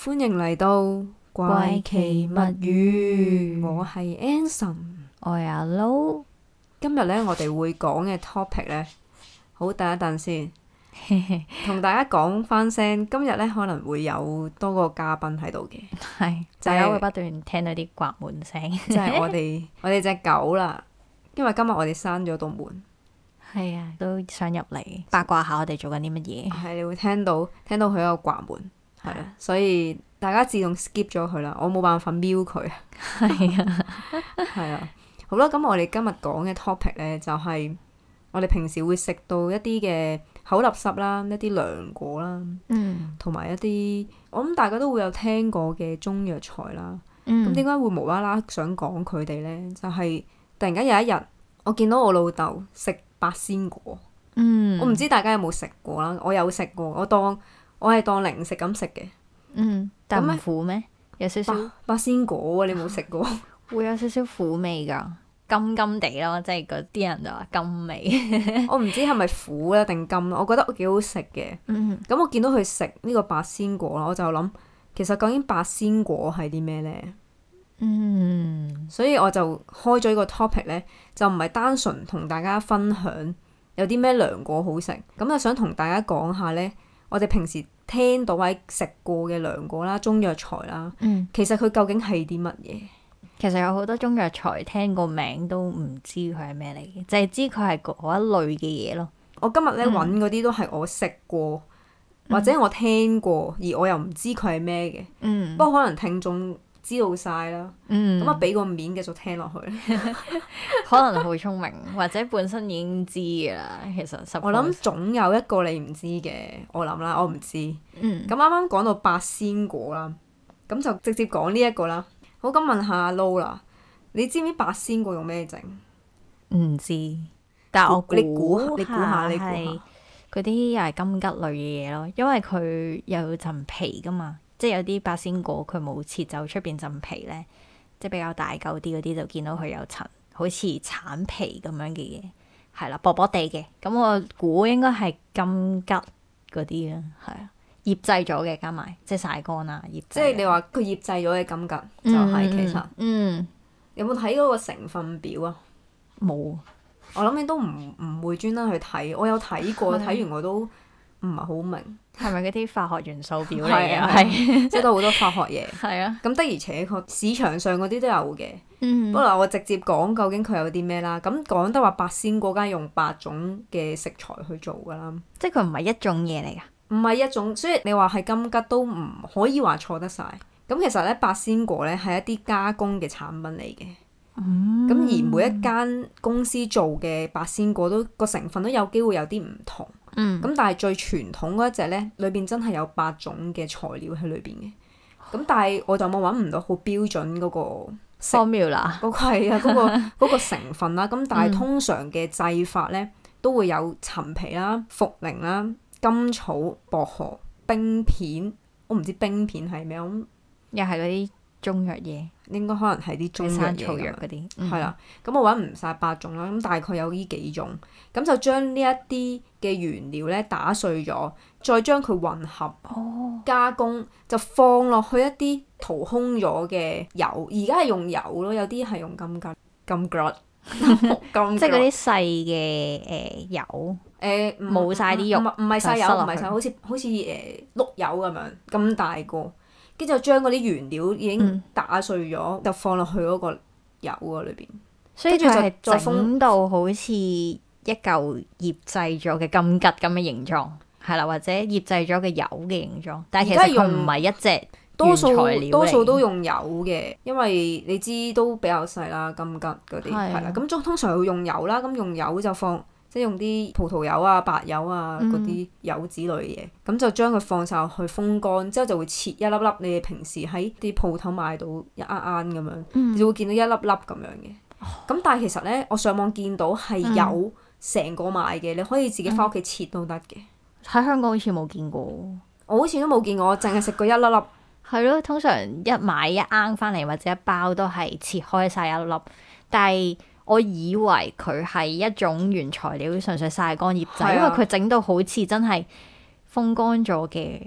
歡迎嚟到怪奇物語，我係 Anson， 我係阿 Lo。 今日咧，我哋會講嘅 topic 咧，好，等一等先，同大家講翻聲。今日咧可能會有多個嘉賓喺度嘅， 係大家會不斷聽到啲刮門聲， 即係我哋隻狗啦。因為今日我哋閂咗道門， 係啊，都想入嚟八卦下我哋做緊啲乜嘢。 係你會聽到佢有個刮門，係啊，所以大家自動 skip 咗佢啦，我冇辦法瞄佢。 係啊， 係啊。好啦，咁我哋今日講嘅 topic 咧，就係我哋平時會食到一啲嘅口立濕啦，一啲涼果啦，同埋一啲我諗大家都會有聽過嘅中藥材啦。咁點解會無啦啦想講佢哋咧？就係突然間有一日，我見到我老豆食八仙果。我唔知大家有冇食過啦，我有食過，我係當零食咁食嘅。 但唔苦咩？有少少八仙果啊！你冇食過？ 會有少少苦味噶，甘甘地咯，即係嗰啲人就話甘味。 我唔知係咪苦啊定甘，我覺得幾好食嘅。咁我見到佢食呢個八仙果啦，我就諗其實究竟八仙果係啲咩咧？所以我就開咗呢個 topic 咧，就唔係單純同大家分享有啲咩涼果好食，咁就想同大家講下咧，我哋平時聽到或者食過嘅涼果啦、中藥材啦，其實佢究竟係啲乜嘢？ 其實有好多中藥材聽個名都唔知佢係咩嚟嘅，淨係知佢係嗰一類嘅嘢咯。 我今日咧揾嗰啲都係我食過，或者我聽過，而我又唔知佢係咩嘅。不過可能聽眾知道晒啦，咁啊俾個面繼續聽落去。 可能好聰明，或者本身已經知噶啦。其實我諗總有一個你唔知嘅，我諗啦，我唔知。咁啱啱講到八仙果啦，咁就直接講呢一個啦。好，咁問下阿 Lo 啦，你知唔知八仙果用咩整？ 唔知，但係你估下， 嗰啲又係金桔類嘅嘢咯，因為佢有層皮噶嘛，即係有啲八仙果佢冇切走出邊層皮咧，即係比較大嚿啲嗰啲就見到佢有層好似橙皮咁樣嘅嘢，係啦，薄薄地嘅，咁我估應該係金桔嗰啲啦，係啊。醃製咗嘅加埋，即係曬乾啦，醃製。即係你話佢醃製咗嘅金桔就係其實。有冇睇嗰個成分表啊？ 冇。我諗你都唔會專登去睇，我有睇過，睇完我都唔係好明。 係咪嗰啲化學元素表嚟嘅？係， 即係都好多化學嘢。 係啊。 咁的而且確市場上嗰啲都有嘅。不過我直接講究竟佢有啲咩啦。咁講得話八仙果梗係用8種嘅食材去做㗎啦。 即係佢唔係一種嘢嚟㗎。 唔係一種，所以你話係金桔都唔可以話錯得晒。咁其實咧，八仙果咧係一啲加工嘅產品嚟嘅。咁而每一間公司做嘅八仙果都個成分都有機會有啲唔同。咁但係最傳統嗰一隻咧，裏邊真係有8種嘅材料喺裏邊嘅。咁但係我就冇揾唔到好標準嗰個 formula，嗰個係啊，嗰個成分啦。咁但係通常嘅製法咧都會有陳皮啦、茯苓啦、甘草、薄荷、冰片，我唔知冰片係咩， 又係嗰啲中藥嘢， 應該可能係啲中藥嘢草藥嗰啲， 係啦。咁我揾唔晒8種啦，咁大概有呢幾種，咁就將呢一啲嘅原料咧打碎咗，再將佢混合加工，就放落去一啲掏空咗嘅油，而家係用油咯，有啲係用金桔，即係嗰啲細嘅油。冇晒啲肉， 唔係細油，唔係細，好似碌柚咁樣咁大個，跟住就將嗰啲原料已經打碎咗，就放落去嗰個油嗰裏邊， 所以佢係整到好似一嚿醃製咗嘅金桔咁嘅形狀，係啦，或者醃製咗嘅油嘅形狀，但係其實佢唔係一隻原材料嚟， 多數都用油嘅，因為你知都比較細啦，金桔嗰啲係啦，咁通常會用油啦，咁用油就放。即係用啲葡萄油啊、白油啊嗰啲油脂類嘅嘢，咁就將佢放晒落去風乾，之後就會切一粒粒。你哋平時喺啲鋪頭買到一啱咁樣，你就會見到一粒粒咁樣嘅。咁但係其實咧，我上網見到係有成個賣嘅，你可以自己翻屋企切都得嘅。 喺香港好似冇見過， 我好似都冇見過，我淨係食過一粒粒。 係咯，通常一買一啱翻嚟或者一包都係切開晒一粒粒，但係我以為佢係一種原材料，純粹曬乾醃製，因為佢整到好似真係風乾咗嘅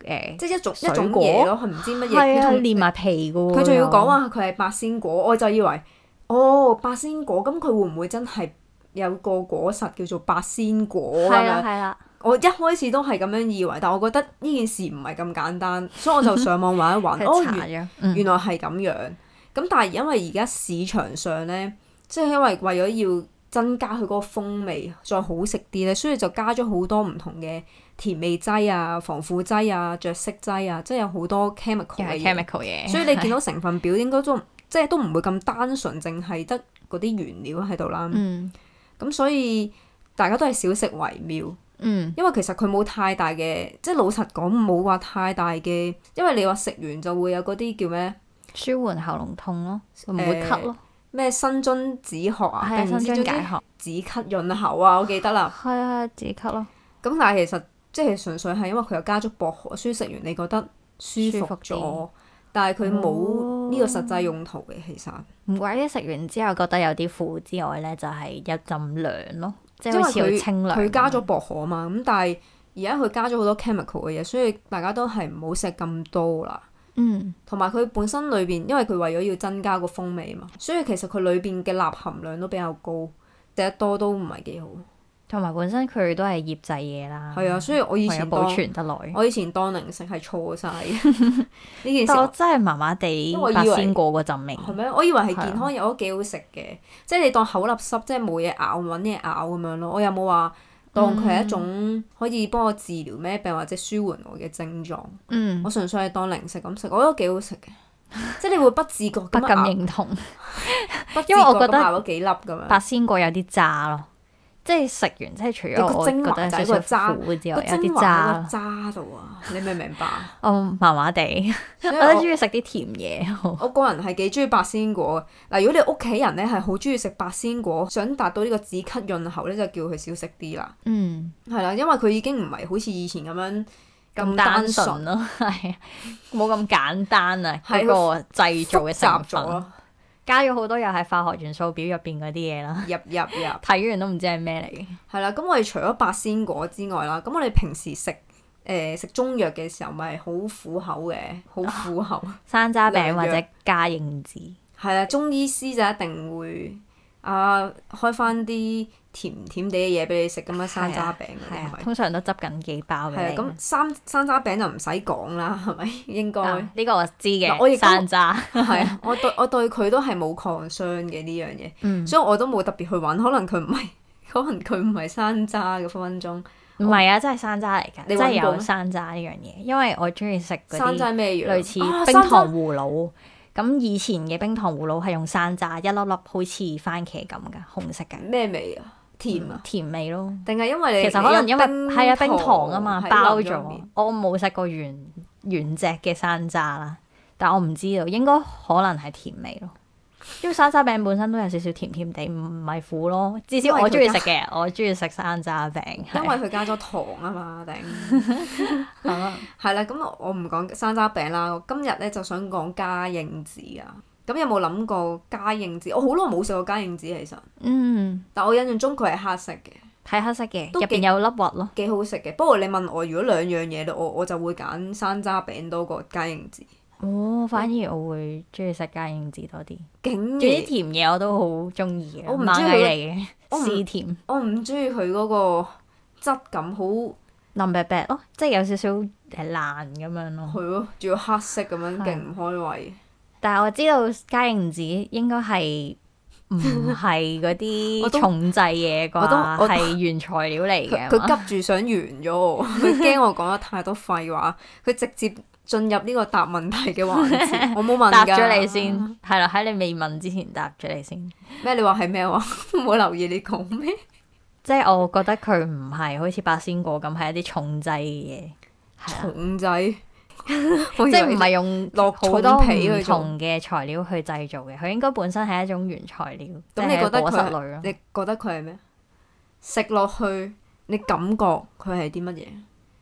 即係一種嘢咯，係唔知乜嘢。 係啊，連埋皮噶喎。 佢仲要講話佢係八仙果，我就以為八仙果，咁佢會唔會真係有個果實叫做八仙果咁樣？ 係啦。 我一開始都係咁樣以為，但我覺得呢件事唔係咁簡單，所以我就上網揾一揾。原來係咁樣。咁但係因為而家市場上咧，即係因為為咗要增加佢嗰個風味，再好食啲咧，所以就加咗好多唔同嘅甜味劑啊、防腐劑啊、着色劑啊，即係有好多 chemical 嘅嘢。所以你見到成分表應該都唔會咁單純，淨係得嗰啲原料喺度啦。咁所以大家都係少食為妙。因為其實佢冇太大嘅，即係老實講冇話太大嘅，因為你話食完就會有嗰啲叫咩？ 舒緩喉嚨痛咯，唔會咳咯。 咩生津止渴啊？ 係生津解渴、 止咳潤喉啊！我記得啦。 係啊，止咳咯。咁但係其實即係純粹係因為佢有加咗薄荷，所以食完你覺得舒服咗，但係佢冇呢個實際用途嘅。其實唔怪得食完之後覺得有啲苦之外咧，就係有陣涼咯。即係好似好清涼。佢加咗薄荷啊嘛，咁但係而家佢加咗好多 chemical 嘅嘢，所以大家都係唔好食咁多啦。同埋佢本身裏邊，因為佢為咗要增加個風味嘛，所以其實佢裏邊嘅鈉含量都比較高，食得多都唔係幾好。同埋本身佢都係醃製嘢啦。係啊，所以我以前保存得耐。我以前當零食係錯晒呢件事。但我真係麻麻地八仙果嗰陣味。係咩？我以為係健康又都幾好食嘅，即係你當口立濕，即係冇嘢咬揾嘢咬咁樣咯。我有冇話當佢係一種可以幫我治療咩病或者舒緩我嘅症狀？我純粹係當零食咁食，我覺得幾好食嘅。即係你會不自覺咁不敢認同，因為我覺得咬咗幾粒咁樣。八仙果有啲渣咯。即係食完，即係除咗我覺得有少少苦之外，有啲渣咯。渣度啊！你明唔明白？我麻麻地，我都中意食啲甜嘢。我個人係幾中意八仙果嘅。嗱，如果你屋企人咧係好中意食八仙果，想達到呢個止咳潤喉咧，就叫佢少食啲啦。係啦，因為佢已經唔係好似以前咁樣咁單純咯，係冇咁簡單啊！嗰個製造嘅成分。加咗好多又係化學元素表入邊嗰啲嘢啦，入睇完都唔知係咩嚟嘅。係啦，咁我哋除咗八仙果之外啦，咁我哋平時食中藥嘅時候咪好苦口嘅，好苦口。山楂餅或者加應子。係啦，中醫師就一定會開翻啲甜甜地嘅嘢俾你食咁樣，山楂餅嗰啲係咪？通常都執緊幾包嘅。係啊，咁山楂餅就唔使講啦，係咪應該？呢個我知嘅。山楂係啊，我對佢都係冇抗傷嘅呢樣嘢，所以我都冇特別去揾。可能佢唔係山楂嘅分分鐘。唔係啊，真係山楂嚟㗎，真係有山楂呢樣嘢。因為我中意食嗰啲山楂咩樣？類似冰糖葫蘆。咁以前嘅冰糖葫蘆係用山楂，一粒粒好似番茄咁㗎，紅色嘅。咩味啊？甜啊？甜味咯。定係因為其實可能因為係啊冰糖啊嘛包咗。我冇食過原隻嘅山楂啦，但我唔知道，應該可能係甜味咯。因為山楂餅本身都有少少甜甜地，唔係苦咯。至少我中意食嘅，我中意食山楂餅。因為佢加咗糖啊嘛，定係啦。咁我唔講山楂餅啦。我今日咧就想講加應子啊。咁有冇諗過加應子？我好耐冇食過加應子其實。但我印象中佢係黑色嘅。係黑色嘅，入邊有粒核咯。幾好食嘅。不過你問我，如果兩樣嘢咧，我就會揀山楂餅多過加應子。反而我會中意食加應子多啲。仲有啲甜嘢我都好中意嘅，我唔中意嚟嘅試甜。我唔中意佢嗰個質感好腍白白咯，即係有少少係爛咁樣咯。係咯，仲要黑色咁樣，勁唔開胃。但係我知道加應子應該係唔係嗰啲重製嘢啩，係原材料嚟嘅。佢急住想完咗我，佢驚我講得太多廢話，佢直接進入呢個答問題嘅環節，我冇問㗎。答咗你先，係啦，喺你未問之前答咗你先。咩？你話係咩話？冇留意你講咩？即係我覺得佢唔係好似八仙果咁，係一啲重製嘅嘢。重製，即係唔係用落好多唔同嘅材料去製造嘅。佢應該本身係一種原材料。咁你覺得果實類咯？你覺得佢係咩？食落去，你感覺佢係啲乜嘢？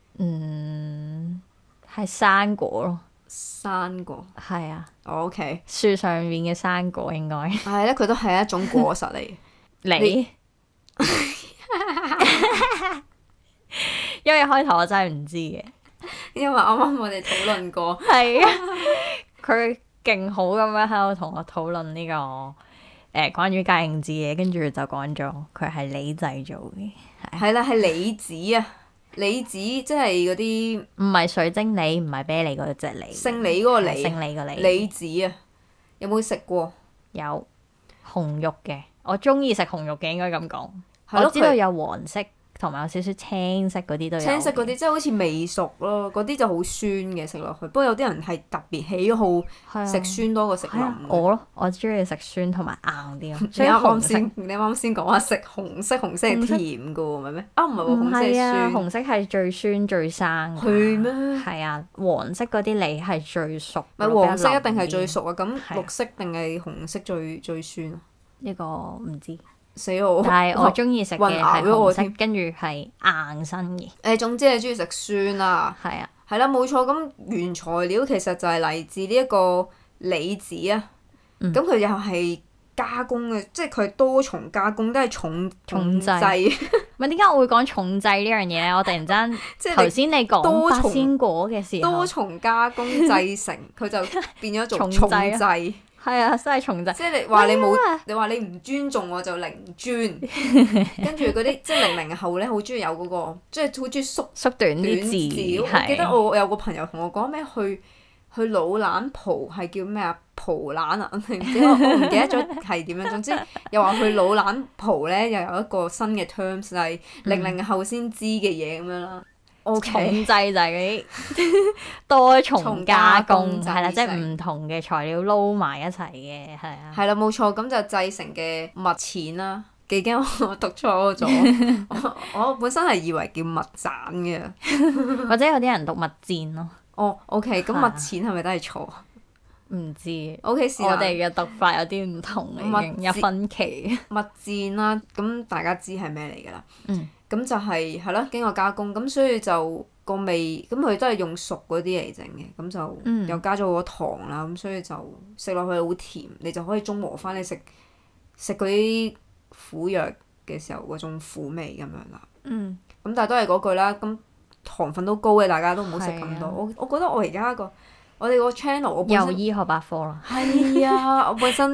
係生果咯，生果係啊。OK，樹上面嘅生果應該係咧，佢都係一種果實嚟。你因為開頭我真係唔知嘅， 因為啱啱我哋討論過。 係啊，佢勁好咁樣喺度同我討論呢個關於嘉應子嘅，跟住就講咗佢係李製造嘅。 係啦，係李子啊！李子即係嗰啲唔係水晶梨，唔係啤梨嗰隻梨， 姓李嗰個李， 姓李個李。 李子啊，有冇食過？ 有紅肉嘅，我中意食紅肉嘅，應該咁講。 係咯， 我知道有黃色同埋有少少青色嗰啲都有。 青色嗰啲即係好似未熟咯，嗰啲就好酸嘅食落去。不過有啲人係特別喜好食酸多過食腍。 我咯，我中意食酸同埋硬啲咯。 你啱啱先講話食紅色係甜嘅喎，唔係咩？啊，唔係喎，紅色係酸。 紅色係最酸最生。 係咩？ 係啊，黃色嗰啲梨係最熟。 唔係黃色一定係最熟啊！咁綠色定係紅色最酸啊？ 呢個唔知。 死我！ 但係我中意食嘅係紅色，跟住係硬身嘅。 總之你中意食酸啊？ 係啊， 係啦，冇錯。咁原材料其實就係嚟自呢一個李子啊。咁佢又係加工嘅，即係佢係多重加工，都係重製。 唔係點解我會講重製呢樣嘢咧？我突然間即係頭先你講八仙果嘅時候， 多重加工製成，佢就變咗做重製。 係啊，真係重製。 即係你話你冇，你話你唔尊重我就零尊，跟住嗰啲即係00後咧，好中意有嗰個，即係好中意縮短啲字。 我記得我有個朋友同我講咩去老蘭蒲係叫咩啊？蒲蘭啊？我唔記得咗係點樣。總之又話去老蘭蒲咧，又有一個新嘅 terms 係00後先知嘅嘢咁樣啦。 重製就係嗰啲多重加工，係啦，即係唔同嘅材料撈埋一齊嘅，係啊。 係啦，冇錯，咁就製成嘅蜜餞啦。幾驚我讀錯咗，我本身係以為叫蜜饌嘅， 或者有啲人讀蜜餞咯。 哦，OK，咁蜜餞係咪都係錯？ 唔知。 OK， 我哋嘅讀法有啲唔同，已經有分歧。 蜜餞啦，咁大家知係咩嚟㗎啦？咁就係咯，經過加工，咁所以就個味，咁佢都係用熟嗰啲嚟整嘅，咁就又加咗好多糖啦，咁所以就食落去好甜，你就可以中和翻你食嗰啲苦藥嘅時候嗰種苦味咁樣啦。咁但係都係嗰句啦，咁糖分都高嘅，大家都唔好食咁多。我覺得我而家我哋個 channel， 我本身又醫學百科啦。 係啊，我本身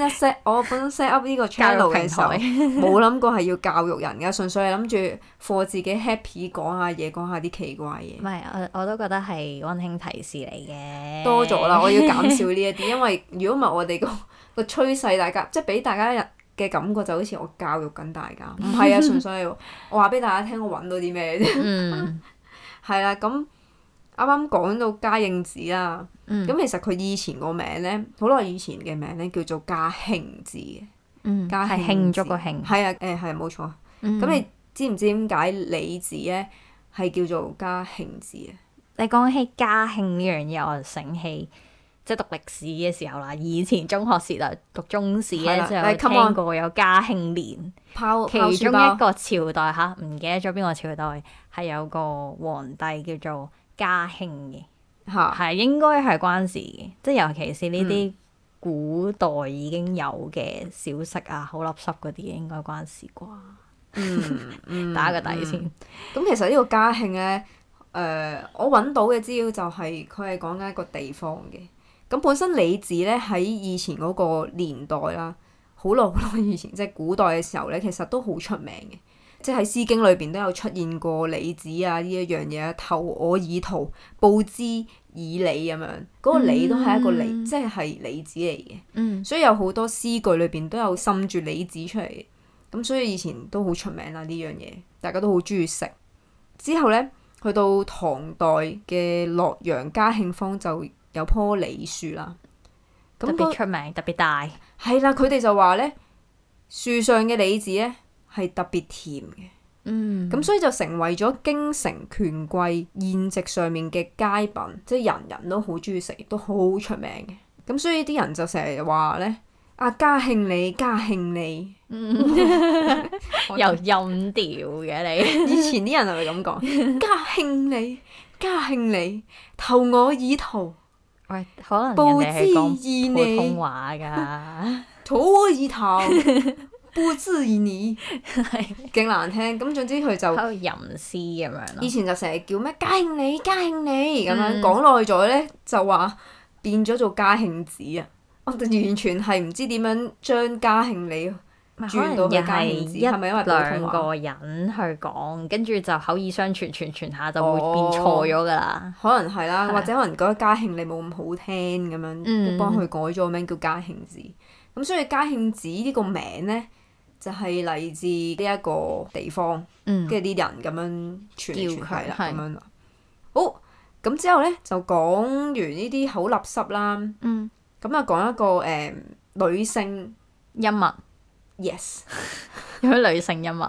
set up 呢個 channel 嘅時候，冇諗過係要教育人㗎，純粹係諗住for自己 happy 講下嘢，講下啲奇怪嘢。 唔係，我都覺得係溫馨提示嚟嘅。 多咗啦，我要減少呢一啲，因為如果唔係我哋個趨勢，大家即係俾大家嘅感覺就好似我教育緊大家，唔係啊，純粹係我話俾大家聽，我揾到啲咩啫。係啦，咁。啱啱講到嘉應子啦，咁其實佢以前個名咧，好耐以前嘅名咧叫做嘉興子嘅，嘉興慶祝個慶。 係啊，係冇錯。咁你知唔知點解李子咧係叫做嘉興子啊？ 你講起嘉慶呢樣嘢，我就醒起即係讀歷史嘅時候啦。以前中學時代讀中史咧，就有聽過有嘉慶年，其中一個朝代嚇，唔記得咗邊個朝代係有個皇帝叫做嘉慶嘅，係應該係關事嘅，即係尤其是呢啲古代已經有嘅小食啊，好垃圾嗰啲應該關事啩。打個底先。 咁其實呢個嘉慶咧，我揾到嘅資料就係佢係講緊一個地方嘅。咁本身李子咧喺以前嗰個年代啦，好耐以前，即係古代嘅時候咧，其實都好出名嘅。即係喺《詩經》裏邊都有出現過李子啊呢一樣嘢，投我以桃，報之以李咁樣。嗰個李都係一個李，即係李子嚟嘅。所以有好多詩句裏邊都有滲住李子出嚟嘅。咁所以以前都好出名啦呢樣嘢，大家都好中意食。之後咧，去到唐代嘅洛陽嘉慶坊就有棵李樹啦。 特別出名，特別大。 係啦，佢哋就話咧，樹上嘅李子咧係特別甜嘅，咁所以就成為咗京城權貴宴席上面嘅佳品，即係人人都好中意食，亦都好出名嘅。咁所以啲人就成日話咧，啊嘉慶李，嘉慶李， 又音調嘅你。 以前啲人係咪咁講？嘉慶李，嘉慶李，投我以桃。 喂，可能人哋係講普通話㗎。 投我以桃。 不質疑你，勁難聽。咁總之佢就喺度吟詩咁樣咯。 以前就成日叫咩嘉慶你嘉慶你咁樣，講耐咗咧就話變咗做嘉慶子啊！我哋完全係唔知點樣將嘉慶你轉到去嘉慶子，係咪因為普通話？兩個人去講，跟住就口耳相傳，傳下就會變錯咗噶啦。可能係啦，或者可能覺得嘉慶你冇咁好聽咁樣，幫佢改咗個名叫嘉慶子。咁所以嘉慶子呢個名咧，就係嚟自呢一個地方，跟住啲人咁樣傳嚟傳去啦，咁樣。好，咁之後咧就講完呢啲口立濕啦。咁啊講一個女性音物。 Yes， 有咩女性音物？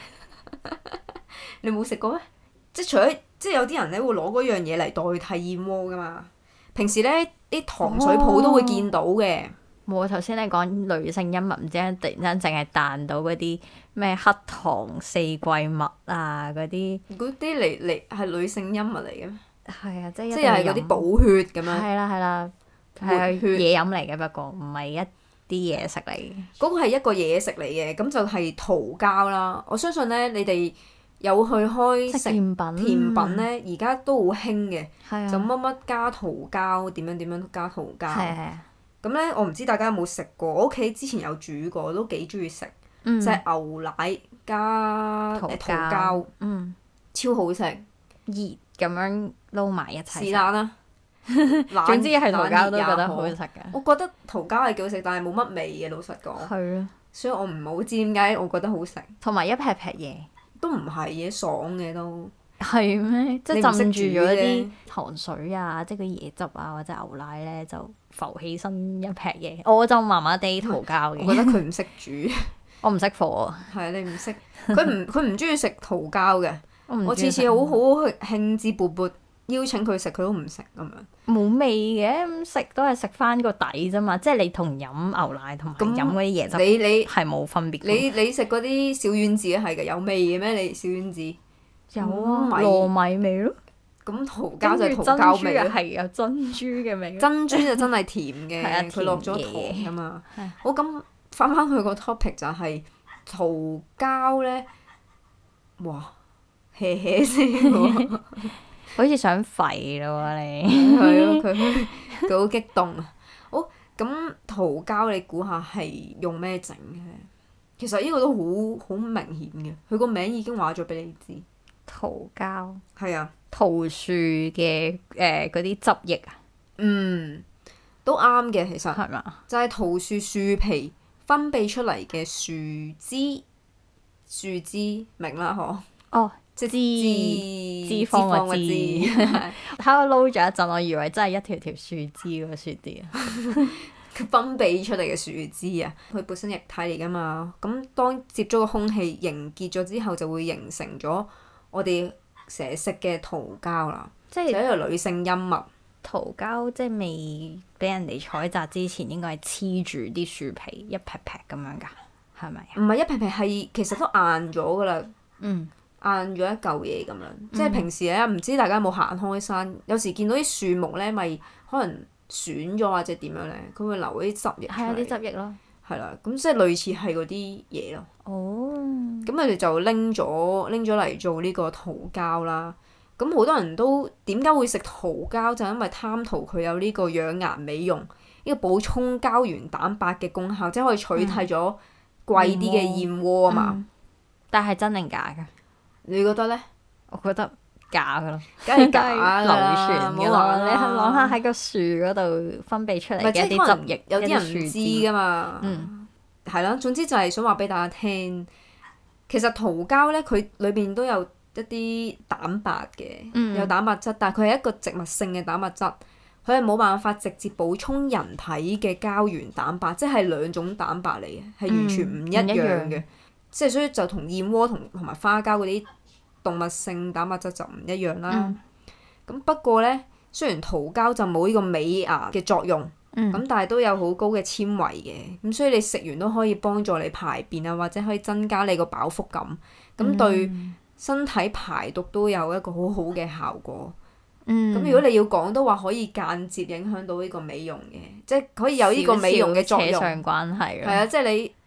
你冇食過咩？即係除咗即係有啲人咧會攞嗰樣嘢嚟代替燕窩噶嘛。平時咧啲糖水鋪都會見到嘅。 冇啊！頭先你講女性音物，唔知突然間淨係彈到嗰啲咩黑糖四季蜜啊嗰啲。嗰啲嚟係女性音物嚟嘅咩？ 係啊，即係係嗰啲補血咁樣。 係啦，係嘢飲嚟嘅，不過唔係一啲嘢食嚟嘅。 嗰個係一個嘢食嚟嘅，咁就係桃膠啦。我相信咧，你哋有去開食甜品咧，而家都好興嘅。就乜乜加桃膠，點樣加桃膠。咁咧，我唔知大家有冇食過。我屋企之前有煮過，都幾中意食。就係牛奶加桃膠，超好食。 熱咁樣撈埋一齊。 是但啦。 總之係桃膠都覺得好好食嘅。 我覺得桃膠係幾好食，但係冇乜味嘅，老實講。係啊。所以我唔係好知點解我覺得好食。 同埋一劈劈嘢。都唔係嘅，爽嘅都。 係咩？即係浸住咗啲糖水啊，即係嗰啲椰汁啊，或者牛奶咧，就浮起身一劈嘢。我就麻麻地桃膠嘅。 我覺得佢唔識煮。 我唔識火。係啊，你唔識。佢唔中意食桃膠嘅。我次次好興致勃勃邀請佢食，佢都唔食咁樣。 冇味嘅，咁食都係食翻個底啫嘛。即係你同飲牛奶同埋飲嗰啲椰汁，你係冇分別。 你食嗰啲小丸子係嘅，有味嘅咩？你小丸子？ 有啊，糯米味咯。 咁桃膠就係桃膠味咯。 係有珍珠嘅味。 珍珠就真係甜嘅，佢落咗糖啊嘛。好，咁翻去個 topic 就係桃膠咧，哇，hea 聲喎， 好似想吠咯喎你。 係咯，佢好激動啊！好，咁桃膠你估下係用咩整嘅？其實呢個都好明顯嘅，佢個名已經話咗俾你知。 桃膠係啊， 桃樹嘅嗰啲汁液啊， 都啱嘅，其實係嘛？ 就係桃樹樹皮分泌出嚟嘅樹枝明啦嗬？ 哦，即係脂肪嘅脂。喺度撈咗一陣，我以為真係一條條樹枝嗰個樹枝啊。 佢分泌出嚟嘅樹枝啊，佢本身液體嚟噶嘛，咁當接觸個空氣凝結咗之後，就會形成咗我哋成日食嘅桃膠啦，即係一個女性音物。 桃膠即係未俾人哋採摘之前，應該係黐住啲樹皮一劈劈咁樣㗎，係咪？ 唔係一劈劈，係其實都硬咗㗎啦。硬咗一嚿嘢咁樣，即係平時咧，唔知大家有冇行開山，有時見到啲樹木咧，咪可能損咗或者點樣咧，佢會留嗰啲汁液出嚟。係啊，啲汁液咯。係啦，咁即係類似係嗰啲嘢咯。哦。咁佢哋就拎咗嚟做呢個桃膠啦。咁好多人都點解會食桃膠？就因為貪圖佢有呢個養顏美容、呢個補充膠原蛋白嘅功效，即係可以取替咗貴啲嘅燕窩啊嘛。 但係真定假㗎？ 你覺得咧？ 我覺得假㗎咯， 梗係假啦， 流傳㗎啦。你諗下喺個樹嗰度分泌出嚟嘅一啲汁液， 有啲人唔知㗎嘛。係啦，總之就係想話俾大家聽，其實桃膠咧，佢裏邊都有一啲蛋白嘅，有蛋白質，但係佢係一個植物性嘅蛋白質，佢係冇辦法直接補充人體嘅膠原蛋白，即係兩種蛋白嚟嘅，係完全唔一樣嘅。即係所以就同燕窩同埋花膠嗰啲動物性蛋白質就唔一樣啦。咁不過咧，雖然桃膠就冇呢個美牙嘅作用，咁但係都有好高嘅纖維嘅，咁所以你食完都可以幫助你排便啊，或者可以增加你個飽腹感，咁對身體排毒都有一個好好嘅效果。咁如果你要講都話可以間接影響到呢個美容嘅，即係可以有呢個美容嘅作用。 扯上關係。 係啊，即係你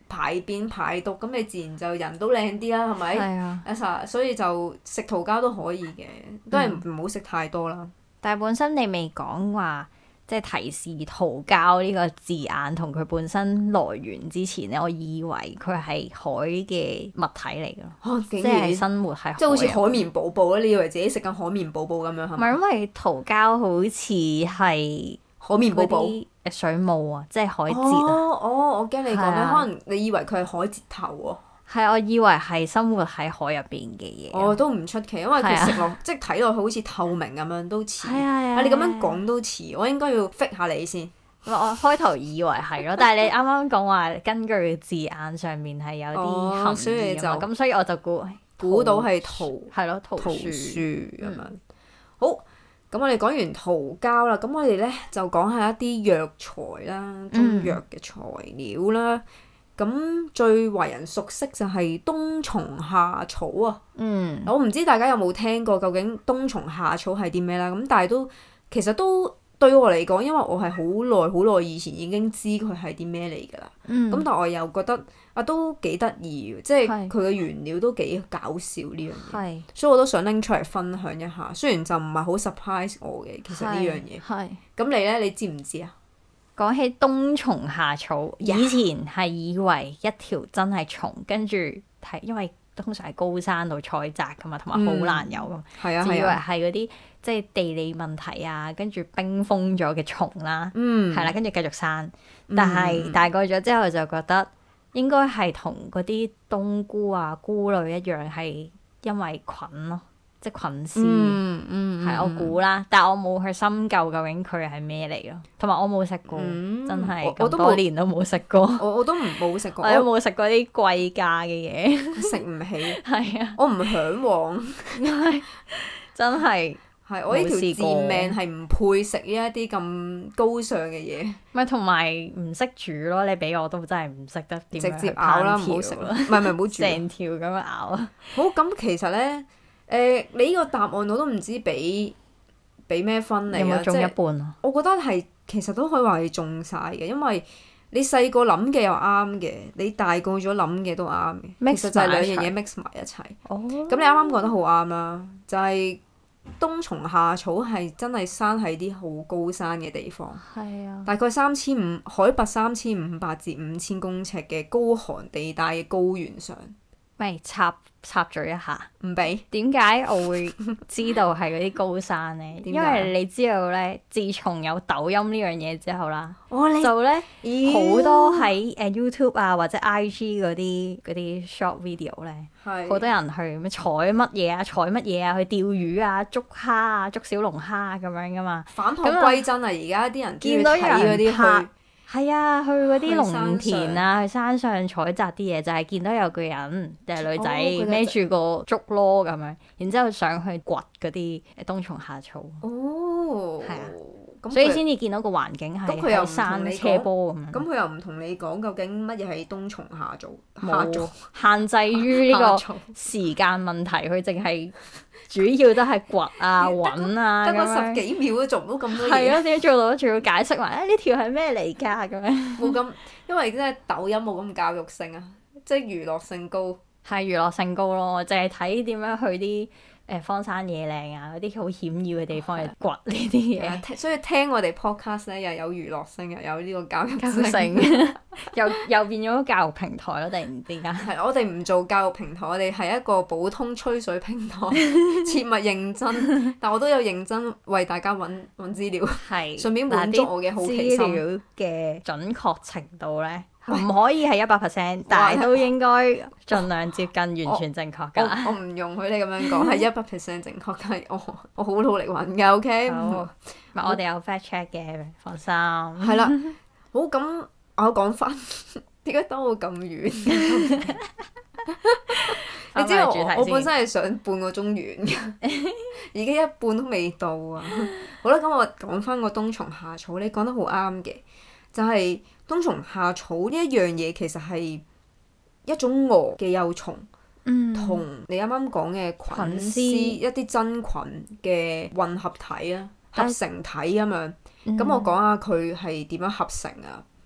排便排毒，咁你自然就人都靚啲啦，係咪？ 係啊。 所以就食桃膠都可以嘅，都係唔好食太多啦。 但係本身你未講話，即係提示桃膠呢個字眼同佢本身來源之前咧，我以為佢係海嘅物體嚟㗎，即係生活喺海， 即係好似海綿寶寶咧，你以為自己食緊海綿寶寶咁樣係咪？ 唔係，因為桃膠好似係海綿寶寶水母啊，即係海蜇啊。 我驚你講咩？可能你以為佢係海蜇頭喎。 係，我以為係生活喺海入邊嘅嘢。 我都唔出奇，因為佢食落即係睇落去好似透明咁樣，都似。你咁樣講都似，我應該要 fit 下你先。 我開頭以為係咯，但係你啱啱講話根據字眼上面係有啲含義啊嘛，咁所以我就估到係桃樹咁樣。好，咁我哋講完桃膠啦，咁我哋咧就講下一啲藥材啦，中藥嘅材料啦。咁最為人熟悉就係冬蟲夏草啊！我唔知大家有冇聽過究竟冬蟲夏草係啲咩啦？咁但係其實都對我嚟講，因為我係好耐以前已經知佢係啲咩嚟㗎啦。咁但我又覺得都幾得意嘅，即係佢嘅原料都幾搞笑呢樣嘢。所以我都想拎出嚟分享一下。雖然就唔係好 surprise 我嘅，其實呢樣嘢。咁你咧，你知唔知啊？ 講起冬蟲夏草，以前係以為一條真係蟲，跟住係因為通常喺高山度採摘噶嘛，同埋好難有噶嘛，就以為係嗰啲即係地理問題啊，跟住冰封咗嘅蟲啦，係啦，跟住繼續生。但係大個咗之後就覺得應該係同嗰啲冬菇啊、菇類一樣，係因為菌咯。即係菌絲，係我估啦，但係我冇去深究究竟佢係咩嚟咯，同埋我冇食過，真係咁多年都冇食過。 我都冇食過， 我都冇食過啲貴價嘅嘢， 食唔起。 係啊， 我唔嚮往， 真係我呢條賤命係唔配食呢一啲咁高尚嘅嘢。 咪同埋唔識煮咯，你俾我都真係唔識得點樣直接咬啦，唔好食啦，唔係唔好煮， 成條咁樣咬啊。 好，咁其實咧。你呢個答案我都唔知俾咩分你啊！ 有冇中一半啊？ 我覺得係其實都可以話係中晒嘅，因為你細個諗嘅又啱嘅，你大個咗諗嘅都啱嘅，其實就係兩樣嘢 mix 埋一齊。咁你啱啱講得好啱啦，就係冬蟲夏草係真係生喺啲好高山嘅地方，大概海拔3500至5000公尺嘅高寒地帶嘅高原上。 咪插嘴一下， 唔俾。點解我會知道係嗰啲高山咧？因為你知道咧，自從有抖音呢樣嘢之後啦，就咧好多喺YouTube 啊或者 IG 嗰啲 short video 咧，好多人去咩採乜嘢啊，去釣魚啊、捉蝦啊、捉小龍蝦咁樣噶嘛。 返璞歸真啊！而家啲人見到有人拍。係啊，去嗰啲農田啊，去山上採摘啲嘢，就係見到有個人定係女仔孭住個竹籮咁樣，然之後上去掘嗰啲冬蟲夏草。係啊，所以先至見到個環境係喺山斜坡咁樣。咁佢又唔同你講究竟乜嘢係冬蟲夏草？ 冇限制於呢個時間問題，佢淨係。主要都係掘啊、揾啊， 得個10幾秒都做唔到咁多嘢。 係啊，點解做到？仲要解釋埋呢條係咩嚟㗎？咁樣冇咁，因為即係抖音冇咁教育性啊，即係娛樂性高。 係娛樂性高咯，淨係睇點樣去啲荒山野嶺啊，嗰啲好險要嘅地方去掘呢啲嘢。 所以聽我哋 podcast 咧，又有娛樂性，又有呢個教育性， 又變咗教育平台咯！突然之間。 係，我哋唔做教育平台，我哋係一個普通吹水平台，切勿認真。但我都有認真為大家揾資料，順便滿足我嘅好奇心。 資料嘅準確程度咧，唔可以係100%，但係都應該盡量接近完全正確㗎。 我唔容許你咁樣講，係100% 正確㗎。我好努力揾㗎，OK？ 我哋有 fact check 嘅，放心。 係啦，好咁，我講翻點解兜到咁遠？你知道我本身係想半個鐘完㗎，而家一半都未到啊！好啦，咁我講翻個冬蟲夏草，你講得好啱嘅，就係冬蟲夏草呢一樣嘢，其實係一種蛾嘅幼蟲，同你啱啱講嘅菌絲一啲真菌嘅混合體啊，合成體咁樣。咁我講下佢係點樣合成啊？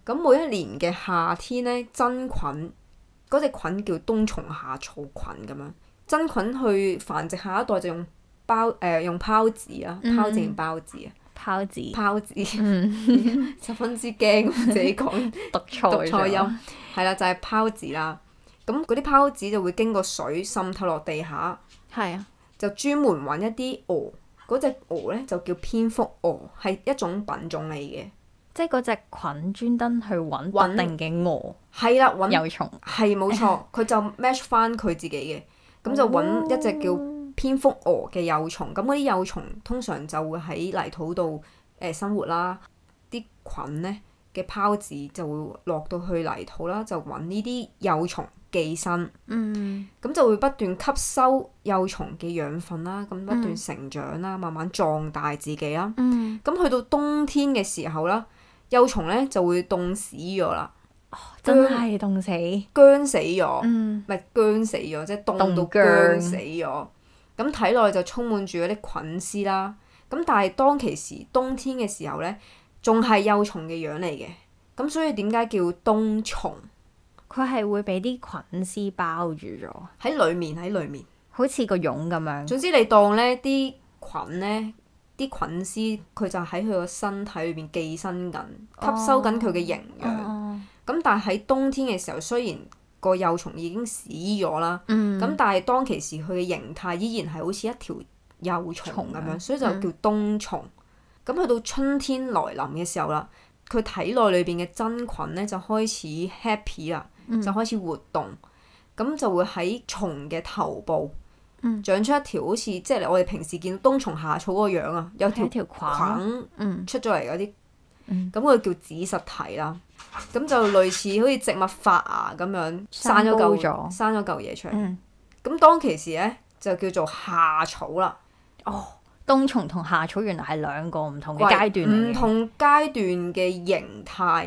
咁每一年嘅夏天咧，真菌嗰隻菌叫冬蟲夏草菌咁樣，真菌去繁殖下一代就用用孢子啊，孢子定孢子啊？孢子，十分之驚自己講讀錯音，係啦，就係孢子啦。咁嗰啲孢子就會經過水滲透落地下， 係啊， 就專門揾一啲蛾，嗰隻蛾咧就叫蝙蝠蛾，係一種品種嚟嘅。 即係嗰隻菌專登去揾特定嘅蛾， 係啦，揾幼蟲， 係冇錯，佢就 match 翻佢自己嘅，咁就揾一隻叫蝙蝠蛾嘅幼蟲。咁嗰啲幼蟲通常就會喺泥土度生活啦，啲菌咧嘅孢子就會落到去泥土啦，就揾呢啲幼蟲寄生，咁就會不斷吸收幼蟲嘅養分啦，咁不斷成長啦，慢慢壯大自己啦。咁去到冬天嘅時候啦，幼蟲咧就會凍死咗啦， 真係凍死， 僵死咗，唔係僵死咗，即係凍到僵死咗。咁體內就充滿住嗰啲菌絲啦。咁但係當其時冬天嘅時候咧，仲係幼蟲嘅樣嚟嘅。咁所以點解叫冬蟲？ 佢係會俾啲菌絲包住咗喺裡面， 好似個蛹咁樣。總之你當咧啲菌咧，啲菌絲佢就喺佢個身體裏邊寄生緊，吸收緊佢嘅營養。咁但係喺冬天嘅時候，雖然個幼蟲已經死咗啦，咁但係當其時佢嘅形態依然係好似一條幼蟲咁樣，所以就叫冬蟲。咁去到春天來臨嘅時候啦，佢體內裏邊嘅真菌咧就開始 happy 啦，就開始活動，咁就會喺蟲嘅頭部長出一條好似即係我哋平時見到冬蟲夏草嗰個樣啊，有條菌出咗嚟嗰啲，咁佢叫子實體啦。咁就類似好似植物發芽咁樣生咗嚿嘢出嚟。咁當其時咧就叫做夏草啦。 冬蟲同夏草原來係兩個唔同嘅階段嚟嘅，唔同階段嘅形態。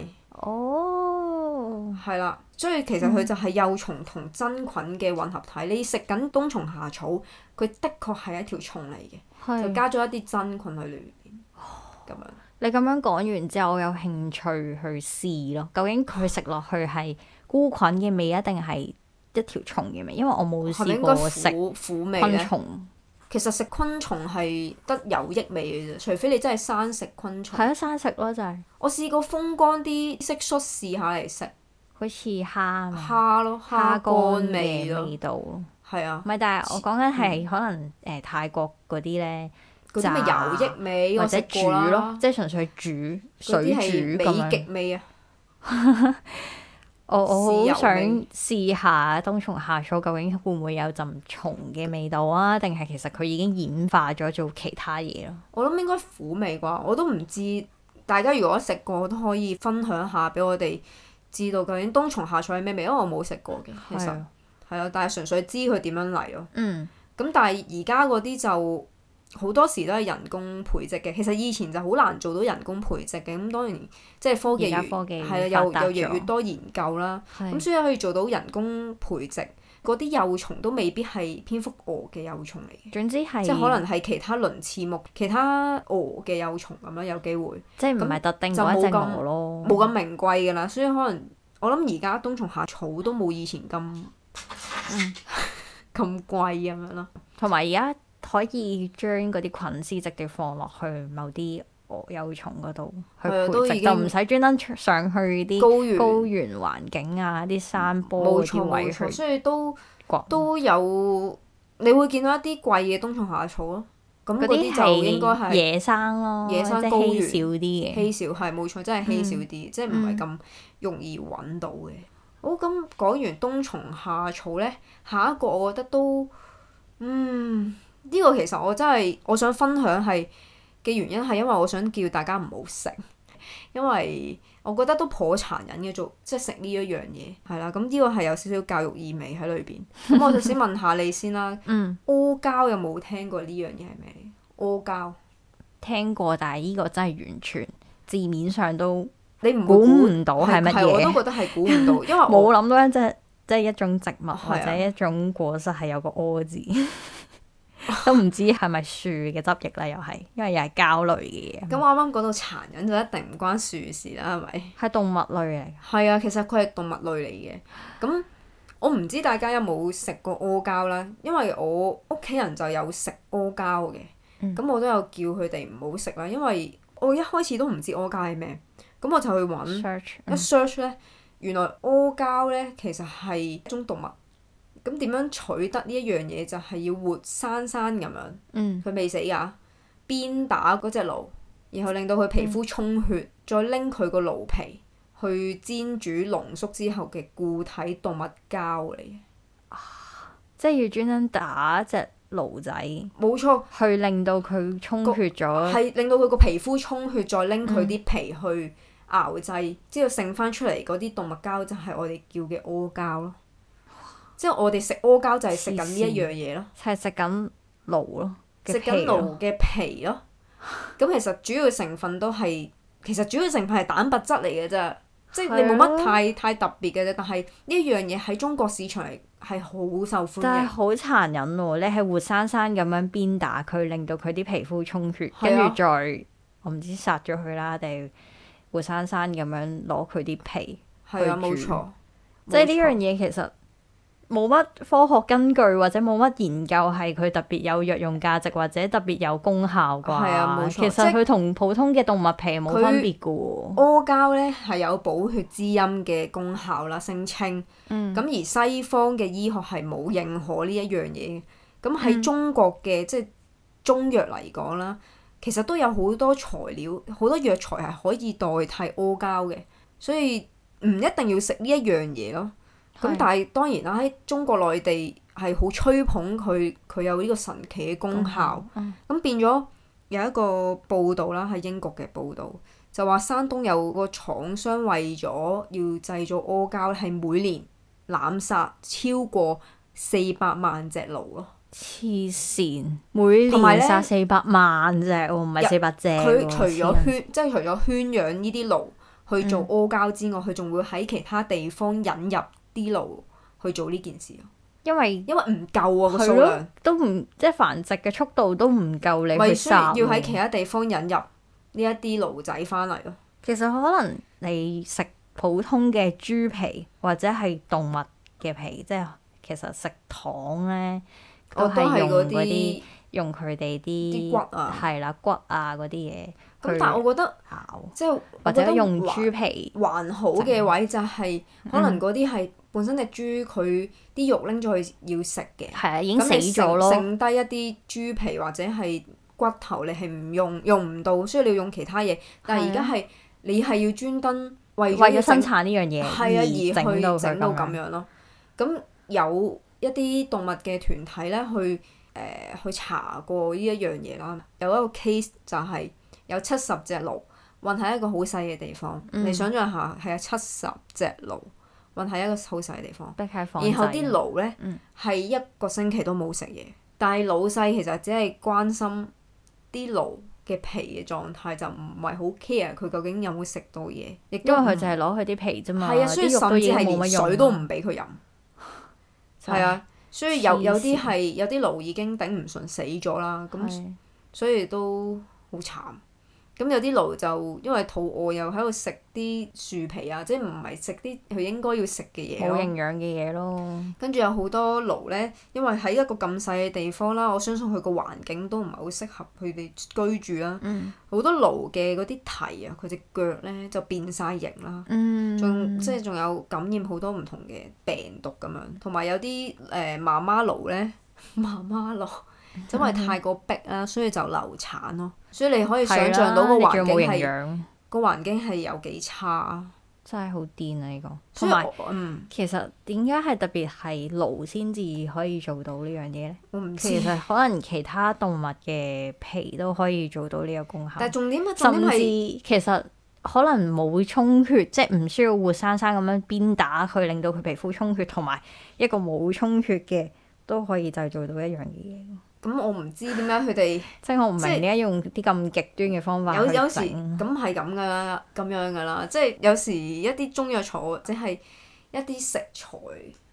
係啦，所以其實佢就係幼蟲同真菌嘅混合體。你食緊冬蟲夏草，佢的確係一條蟲嚟嘅，就加咗一啲真菌喺裏邊。咁樣你咁樣講完之後，我有興趣去試咯。究竟佢食落去係菇菌嘅味，一定係一條蟲嘅味？因為我冇試過食昆蟲。 其實食昆蟲係得有益味嘅啫，除非你真係生食昆蟲。 係啊，生食咯就係。 我試過風乾啲蟋蟀試下嚟食， 好似蝦咯，蝦乾味道。 係啊。 唔係，但係我講緊係可能泰國嗰啲咧， 嗰啲咪有益味， 或者煮咯，即係純粹煮水煮咁樣。美極味啊！我好想試下冬蟲夏草究竟會唔會有陣蟲嘅味道啊？定係其實佢已經演化咗做其他嘢咯？ 我諗應該苦味啩，我都唔知。大家如果食過都可以分享下俾我哋知道究竟冬蟲夏草係咩味，因為我冇食過嘅，其實係啊，但係純粹知佢點樣嚟咯。咁但係而家嗰啲就好多時都係人工培植嘅，其實以前就好難做到人工培植嘅。咁當然即係科技係啊，又越嚟越多研究啦。咁所以可以做到人工培植，嗰啲幼蟲都未必係蝙蝠蛾嘅幼蟲嚟嘅。 總之係即係可能係其他鱗翅目、其他蛾嘅幼蟲咁樣，有機會。即係唔係特定嗰一隻蛾咯。 冇咁名貴㗎啦，所以可能我諗而家冬蟲夏草都冇以前咁咁貴咁樣咯。 同埋而家可以將嗰啲菌絲直接放落去某啲幼蟲嗰度去培植，就唔使專登上去啲高原環境啊、啲山坡嗰啲位去。 所以都有你會見到一啲貴嘅冬蟲夏草咯。咁嗰啲就應該係野生咯， 野生高原稀少啲嘅。 稀少係冇錯，真係稀少啲，即係唔係咁容易揾到嘅。好，咁講完冬蟲夏草咧，下一個我覺得都呢個其實我真係我想分享係嘅原因係因為我想叫大家唔好食，因為我覺得都頗殘忍嘅即係食呢一樣嘢係啦。咁呢個係有少少教育意味喺裏邊。咁我就先問下你先啦。阿膠有冇聽過呢樣嘢係咩嚟？阿膠聽過，但係呢個真係完全字面上都你唔估唔到係乜嘢。 我都覺得係估唔到，因為冇諗到即係一種植物或者一種果實係有個柯字。 都唔知係咪樹嘅汁液咧，又係因為又係膠類嘅嘢。 咁我啱啱講到殘忍就一定唔關樹事啦，係咪？ 係動物類嚟。係啊，其實佢係動物類嚟嘅。咁我唔知大家有冇食過阿膠啦，因為我屋企人就有食阿膠嘅。咁我都有叫佢哋唔好食啦，因為我一開始都唔知阿膠係咩，咁我就去揾一 search 咧，原來阿膠咧其實係一種動物。咁點樣取得呢一樣嘢？就係要活生生咁樣，佢未死㗎，鞭打嗰隻驢，然後令到佢皮膚充血，再拎佢個驢皮去煎煮濃縮之後嘅固體動物膠嚟嘅。 即係要專登打隻驢仔， 冇錯， 去令到佢充血咗， 係令到佢個皮膚充血，再拎佢啲皮去熬製，之後剩翻出嚟嗰啲動物膠就係我哋叫嘅阿膠咯。即係我哋食阿膠就係食緊呢一樣嘢咯， 係食緊驢咯， 食緊驢嘅皮咯。咁其實主要成分都係，其實主要成分係蛋白質嚟嘅啫，即係你冇乜太特別嘅啫。但係呢一樣嘢喺中國市場係好受歡迎。但係好殘忍喎！你係活生生咁樣鞭打佢，令到佢啲皮膚充血，跟住再我唔知殺咗佢啦，定活生生咁樣攞佢啲皮去煮。 冇錯， 即係呢樣嘢其實冇乜科學根據，或者冇乜研究係佢特別有藥用價值或者特別有功效啩。係啊，冇錯。其實佢同普通嘅動物皮冇分別噶喎。阿膠咧係有補血滋陰嘅功效啦，聲稱。咁而西方嘅醫學係冇認可呢一樣嘢。咁喺中國嘅即係中藥嚟講啦，其實都有好多材料、好多藥材係可以代替阿膠嘅，所以唔一定要食呢一樣嘢咯。咁但係當然啦，喺中國內地係好吹捧佢有呢個神奇嘅功效。咁變咗有一個報道啦，喺英國嘅報道就話山東有個廠商為咗要製造阿膠，係每年濫殺超過400萬隻驢咯。 黐線！每年殺400萬隻喎，唔係400隻。 佢除咗圈養呢啲驢去做阿膠之外，佢仲會喺其他地方引入啲驢去做呢件事，因為唔夠啊，個數量都唔即係繁殖嘅速度都唔夠你去殺， 要喺其他地方引入呢一啲驢仔翻嚟咯。 其實可能你食普通嘅豬皮或者係動物嘅皮，即係其實食糖咧都係用佢哋啲骨啊，係啦，骨啊嗰啲嘢。 咁但係我覺得即係或者用豬皮還好嘅位就係可能嗰啲係本身隻豬佢啲肉拎咗去要食嘅， 係啊，已經死咗咯。 剩低一啲豬皮或者係骨頭，你係唔用唔到，所以你要用其他嘢。但係而家係你係要專登為咗生產呢樣嘢， 係啊，而去整到咁樣咯。咁有一啲動物嘅團體咧去查過呢一樣嘢啦，有一個 case 就係有70隻驢運喺一個好細嘅地方，你想象下係有70隻驢運喺一個好細嘅地方，然後啲驢咧係一個星期都冇食嘢，但係老細其實只係關心啲驢嘅皮嘅狀態，就唔係好 care 佢究竟有冇食到嘢，亦都因為佢就係攞佢啲皮啫嘛， 係啊，所以甚至係連水都唔俾佢飲，係啊。所以有啲驢已經頂唔順死咗啦，咁所以都好慘。咁有啲驢就因為肚餓，又喺度食啲樹皮啊，即係唔係食啲佢應該要食嘅嘢咯。 冇營養嘅嘢咯。 跟住有好多驢咧，因為喺一個咁細嘅地方啦，我相信佢個環境都唔係好適合佢哋居住啦。好多驢嘅嗰啲蹄啊，佢隻腳咧就變晒形啦。仲有感染好多唔同嘅病毒咁樣，同埋有啲媽媽驢咧，因為太過逼啦，所以就流產咯。所以你可以想像到個環境係有幾差。 真係好癲啊！呢個同埋其實點解係特別係驢先至可以做到呢樣嘢咧？ 我唔知。 其實可能其他動物嘅皮都可以做到呢個功效。 但係重點係甚至其實可能冇充血，即係唔需要活生生咁樣鞭打佢，令到佢皮膚充血，同埋一個冇充血嘅都可以製造到一樣嘅嘢。 咁我唔知點解佢哋即係我唔明點解用啲咁極端嘅方法去整。 有時咁係咁樣㗎啦，即係有時一啲中藥材或者係一啲食材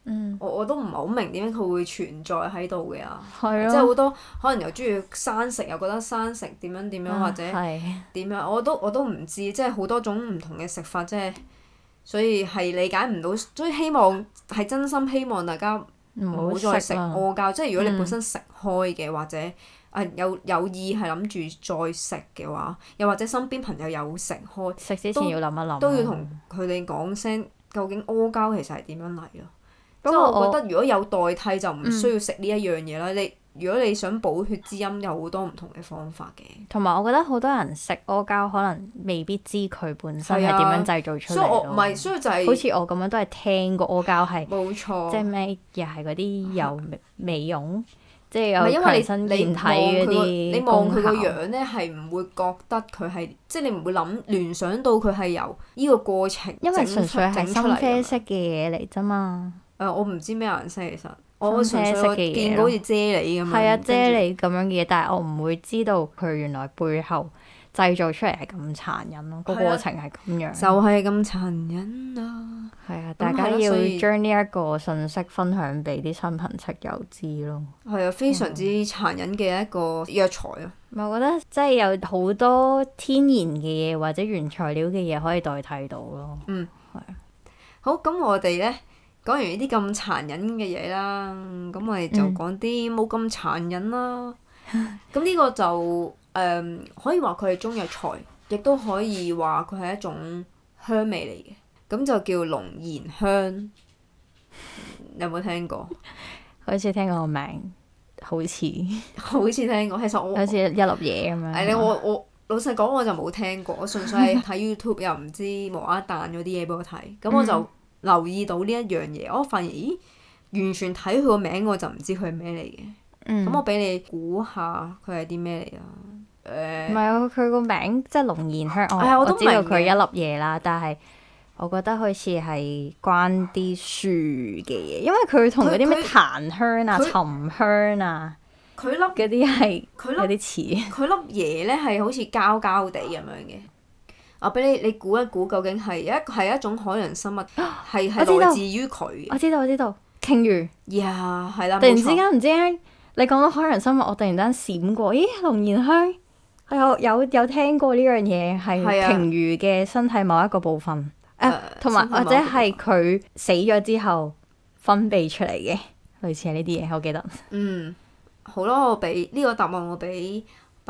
我都唔係好明點解佢會存在喺度嘅啊！ 係即係好多可能又中意生食，又覺得生食點樣點樣，或者點樣，我都唔知，即係好多種唔同嘅食法，即係所以係理解唔到，所以希望係真心希望大家唔好再食阿膠。即係如果你本身食開嘅，或者有意係諗住再食嘅話，又或者身邊朋友有食開， 食之前要諗一諗， 都要同佢哋講聲，究竟阿膠其實係點樣嚟咯？即係我覺得如果有代替就唔需要食呢一樣嘢啦。如果你想補血滋陰，有好多唔同嘅方法嘅。 同埋我覺得好多人食阿膠可能未必知佢本身係點樣製造出嚟咯。 所以就係好似我咁樣都係聽過阿膠係冇錯， 即係咩又係嗰啲有美容，即係有強身健體嗰啲。 你望佢個樣咧，係唔會覺得佢係，即係你唔會聯想到佢係由呢個過程因為純粹係深啡色嘅嘢嚟啫嘛。 我唔知咩顏色其實，我純粹見到好似啫喱咁樣。 係啊，啫喱咁樣嘅嘢，但係我唔會知道佢原來背後製造出嚟係咁殘忍咯，個過程係咁樣。 就係咁殘忍啊！ 係啊，大家要將呢一個信息分享俾啲親朋戚友知咯。 係啊，非常之殘忍嘅一個藥材啊！ 我覺得即係有好多天然嘅嘢或者原材料嘅嘢可以代替到咯。係啊。 好，咁我哋咧。講完呢啲咁殘忍嘅嘢啦，咁我哋就講啲冇咁殘忍啦。咁呢個就可以話佢係中藥材，亦都可以話佢係一種香味嚟嘅。咁就叫龍涎香，有冇聽過？ 好似聽過個名，好似聽過。其實我好似一粒嘢咁樣。 我老實講我就冇聽過，我純粹係睇 YouTube 又唔知無啦啦彈咗啲嘢俾我睇，咁我就留意到呢一樣嘢，我發現咦，完全睇佢個名我就唔知佢係咩嚟嘅。咁我俾你估下佢係啲咩嚟啊？ 唔係啊，佢個名即係龍涎香。我知道佢係一粒嘢啦，但係我覺得好似係關啲樹嘅嘢，因為佢同嗰啲咩檀香啊、沉香啊， 佢粒嗰啲係有啲似。 佢粒嘢咧係好似膠膠地咁樣嘅。我俾你估一估，究竟係一種海洋生物，係來自於佢。 我知道，鯨魚。 呀，係啦， 突然之間唔知點解你講到海洋生物，我突然間閃過，咦，龍涎香，我有聽過呢樣嘢，係鯨魚嘅身體某一個部分，同埋或者係佢死咗之後分泌出嚟嘅，類似係呢啲嘢，我記得。 好啦，我俾呢個答案，我俾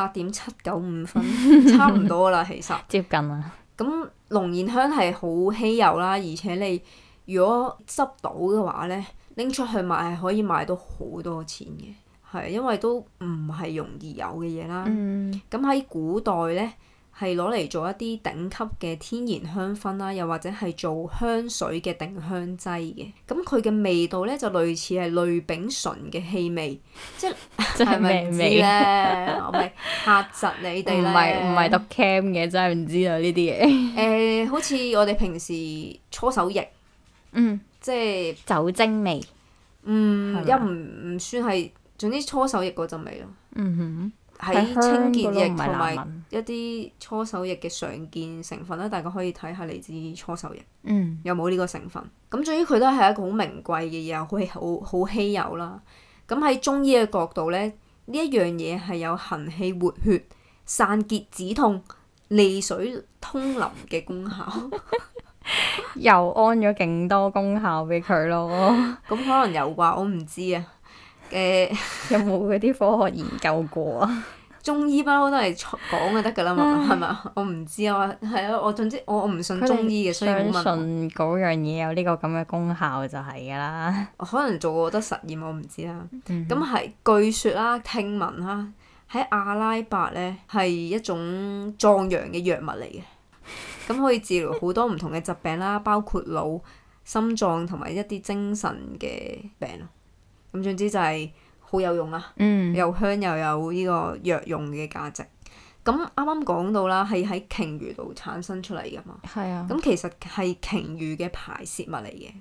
8.795分，差唔多啦，其實接近啦。 咁龍涎香係好稀有啦，而且你如果執到嘅話咧，拎出去賣係可以賣到好多錢嘅，係因為都唔係容易有嘅嘢啦。咁喺古代咧，係攞嚟做一啲頂級嘅天然香薰啦，又或者係做香水嘅定香劑嘅。咁佢嘅味道咧就類似係類丙醇嘅氣味，即係咪唔知咧？我咪嚇窒你哋咧。 唔係讀 cam 嘅，真係唔知啊呢啲嘢。 好似我哋平時搓手液，即係酒精味。 又唔算係，總之搓手液嗰陣味咯。喺清潔液同埋一啲搓手液嘅常見成分咧，大家可以睇下嚟自搓手液，有冇呢個成分。咁至於佢都係一個好名貴嘅嘢，好稀有啦。咁喺中醫嘅角度咧，呢一樣嘢係有行氣活血、散結止痛、利水通淋嘅功效。 又安咗勁多功效俾佢咯。 咁可能有啩，我唔知啊。 有冇嗰啲科學研究過啊？ 中醫包都係講就得㗎啦嘛，係咪？我唔知啊，係啊，我總之我唔信中醫嘅，所以冇問。相信嗰樣嘢有呢個咁嘅功效就係㗎啦。 可能做過得實驗，我唔知啦。咁係據說啦，聽聞啦，喺阿拉伯咧係一種壯陽嘅藥物嚟嘅，咁可以治療好多唔同嘅疾病啦，包括腦、心臟同埋一啲精神嘅病咯。咁總之就係好有用啦，又香又有呢個藥用嘅價值。咁啱啱講到啦，係喺鯨魚度產生出嚟㗎嘛。係啊。咁其實係鯨魚嘅排泄物嚟嘅。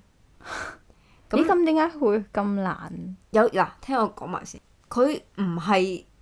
咁點解會咁難？ 嗱，聽我講埋先。佢唔係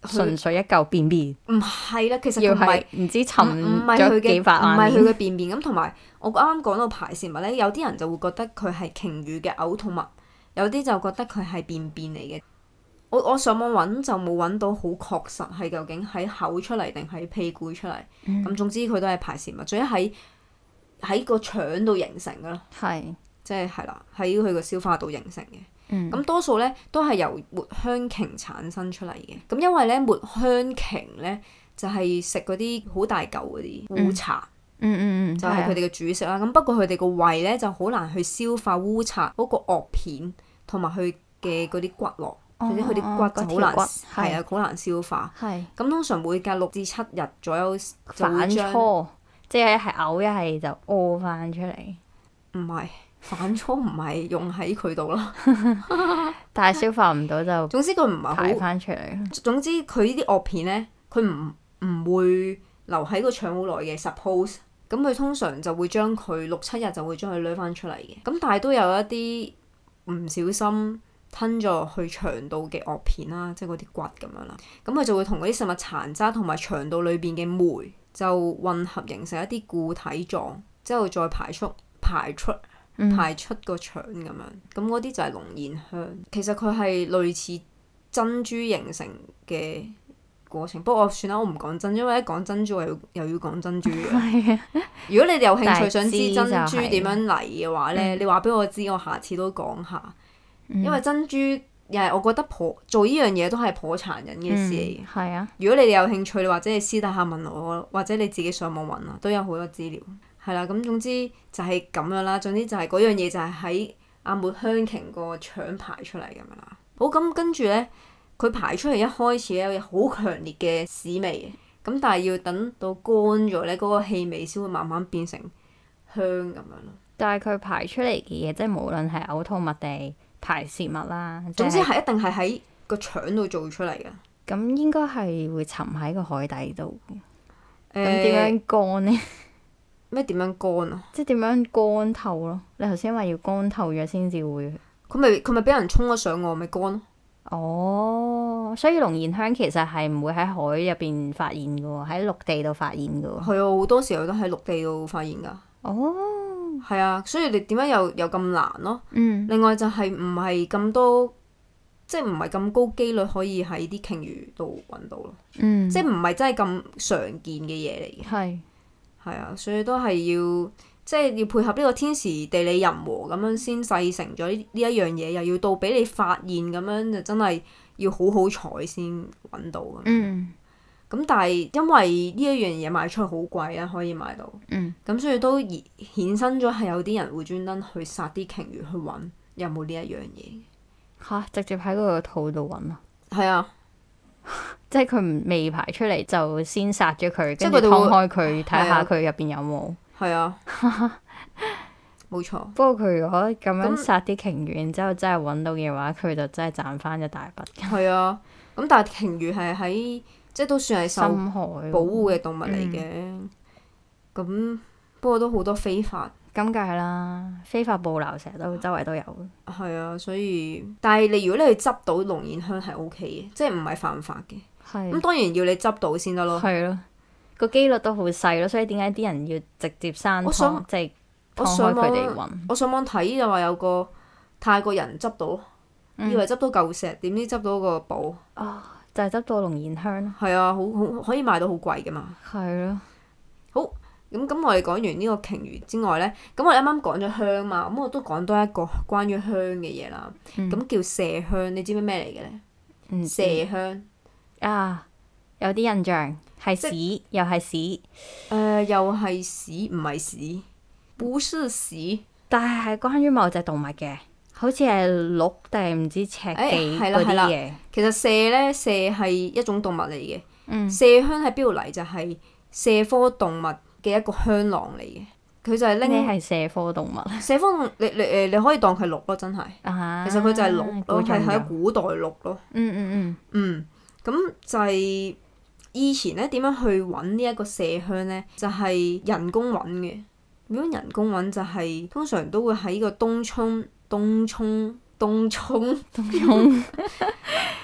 純粹一嚿便便。 唔係啦，其實佢唔係唔知沉咗幾百萬年。 唔係佢嘅便便咁，同埋我啱啱講到排泄物咧，有啲人就會覺得佢係鯨魚嘅嘔吐物，有啲就覺得佢係便便嚟嘅。我上網揾就冇揾到好確實係究竟喺口出嚟定喺屁股出嚟。咁總之佢都係排泄物，仲要喺個腸度形成噶咯。係。即係啦，喺佢個消化道形成嘅。咁多數咧都係由抹香鯨產生出嚟嘅。咁因為咧抹香鯨咧就係食嗰啲好大嚿嗰啲烏賊，就係佢哋嘅主食啦。咁不過佢哋個胃咧就好難去消化烏賊嗰個顎片同埋佢嘅嗰啲骨骼，總之佢啲骨就好難，係啊，好難消化。咁通常每隔6至7日左右就會將， 即係一係嘔一係就屙翻出嚟。 唔係。反芻唔係用喺佢度咯， 但係消化唔到就， 總之佢唔係好排翻出嚟。總之佢呢啲顎片咧，佢唔會留喺個腸好耐嘅。Suppose 咁佢通常就會將佢6、7日就會將佢攞翻出嚟嘅。咁但係都有一啲唔小心吞咗去腸道嘅顎片啦，即係嗰啲骨咁樣啦。咁佢就會同嗰啲食物殘渣同埋腸道裏邊嘅酶就混合形成一啲固體狀，之後再排出個腸咁樣，咁嗰啲就係龍涎香。其實佢係類似珍珠形成嘅過程，不過我算啦，我唔講珍珠，因為一講珍珠又要講珍珠嘅。如果你哋有興趣想知珍珠點樣嚟嘅話咧，你話俾我知，我下次都講下。因為珍珠又係我覺得做呢樣嘢都係頗殘忍嘅事嚟嘅。如果你哋有興趣，或者你私底下問我，或者你自己上網揾啊，都有好多資料。係啦，咁總之就係咁樣啦。總之就係嗰樣嘢就係喺阿抹香鯨個腸排出嚟咁樣啦。好，咁跟住咧，佢排出嚟一開始咧有好強烈嘅屎味嘅，咁但係要等到乾咗咧，嗰個氣味先會慢慢變成香咁樣咯。但係佢排出嚟嘅嘢，即係無論係嘔吐物定排泄物啦，總之係一定係喺個腸度做出嚟嘅。咁應該係會沉喺個海底度。咁點樣乾咧？咩點樣乾啊？即係點樣乾透咯？你頭先話要乾透咗先至會，佢咪俾人沖咗上岸咪乾咯？哦，所以龍涎香其實係唔會喺海入邊發現嘅喎，喺陸地度發現嘅喎。係啊，好多時候都喺陸地度發現㗎。哦，係啊，所以你點解有咁難咯？另外就係唔係咁多，即係唔係咁高機率可以喺啲鯨魚度揾到咯。即係唔係真係咁常見嘅嘢嚟嘅。係啊，所以都係要即係要配合呢個天時地利人和咁樣先製成咗呢一樣嘢，又要到俾你發現咁樣，就真係要好好彩先揾到咁。咁但係因為呢一樣嘢賣出去好貴啦，可以買到。咁所以都衍生咗係有啲人會專登去殺啲鯨魚去揾有冇呢一樣嘢。嚇！直接喺佢個肚度揾啊？係啊。即係佢未排出嚟就先殺咗佢，跟住劏開佢睇下佢入邊有冇。係啊，冇錯。不過佢如果咁樣殺啲鯨魚，然之後真係揾到嘅話，佢就真係賺翻一大筆。係啊，咁但係鯨魚係喺即係都算係受保護嘅動物嚟嘅。咁不過都好多非法。咁梗係啦，非法捕撈成日都周圍都有。係啊，所以但係如果你去執到龍涎香係 OK 嘅，即係唔係犯法嘅。咁當然要你執到先得咯。係咯，個機率都好細咯，所以點解啲人要直接生湯，即係劏開佢哋揾？我上網睇就話有個泰國人執到，以為執到嚿石，點知執到個寶。就係執到龍涎香咯。係啊，好可以賣到好貴噶嘛。係咯。好。咁我哋講完呢個鯨魚之外咧，咁我哋啱啱講咗香嘛，咁我都講多一個關於香嘅嘢啦。咁叫麝香，你知唔知咩嚟嘅咧？麝香啊，有啲印象係屎，又係屎。又係屎，唔係屎，不是屎。但係關於某隻動物嘅，好似係鹿定唔知赤驥嗰啲嘢。其實麝係一種動物嚟嘅。麝香喺邊度嚟？就係麝科動物嘅一個香囊嚟嘅，佢就係拎。咩係麝科動物？麝科動物你可以當佢鹿咯，真係。其實佢就係鹿咯，係喺古代鹿咯。咁就係以前咧點樣去揾呢一個麝香咧？就係人工揾嘅。如果人工揾就係通常都會喺個東涌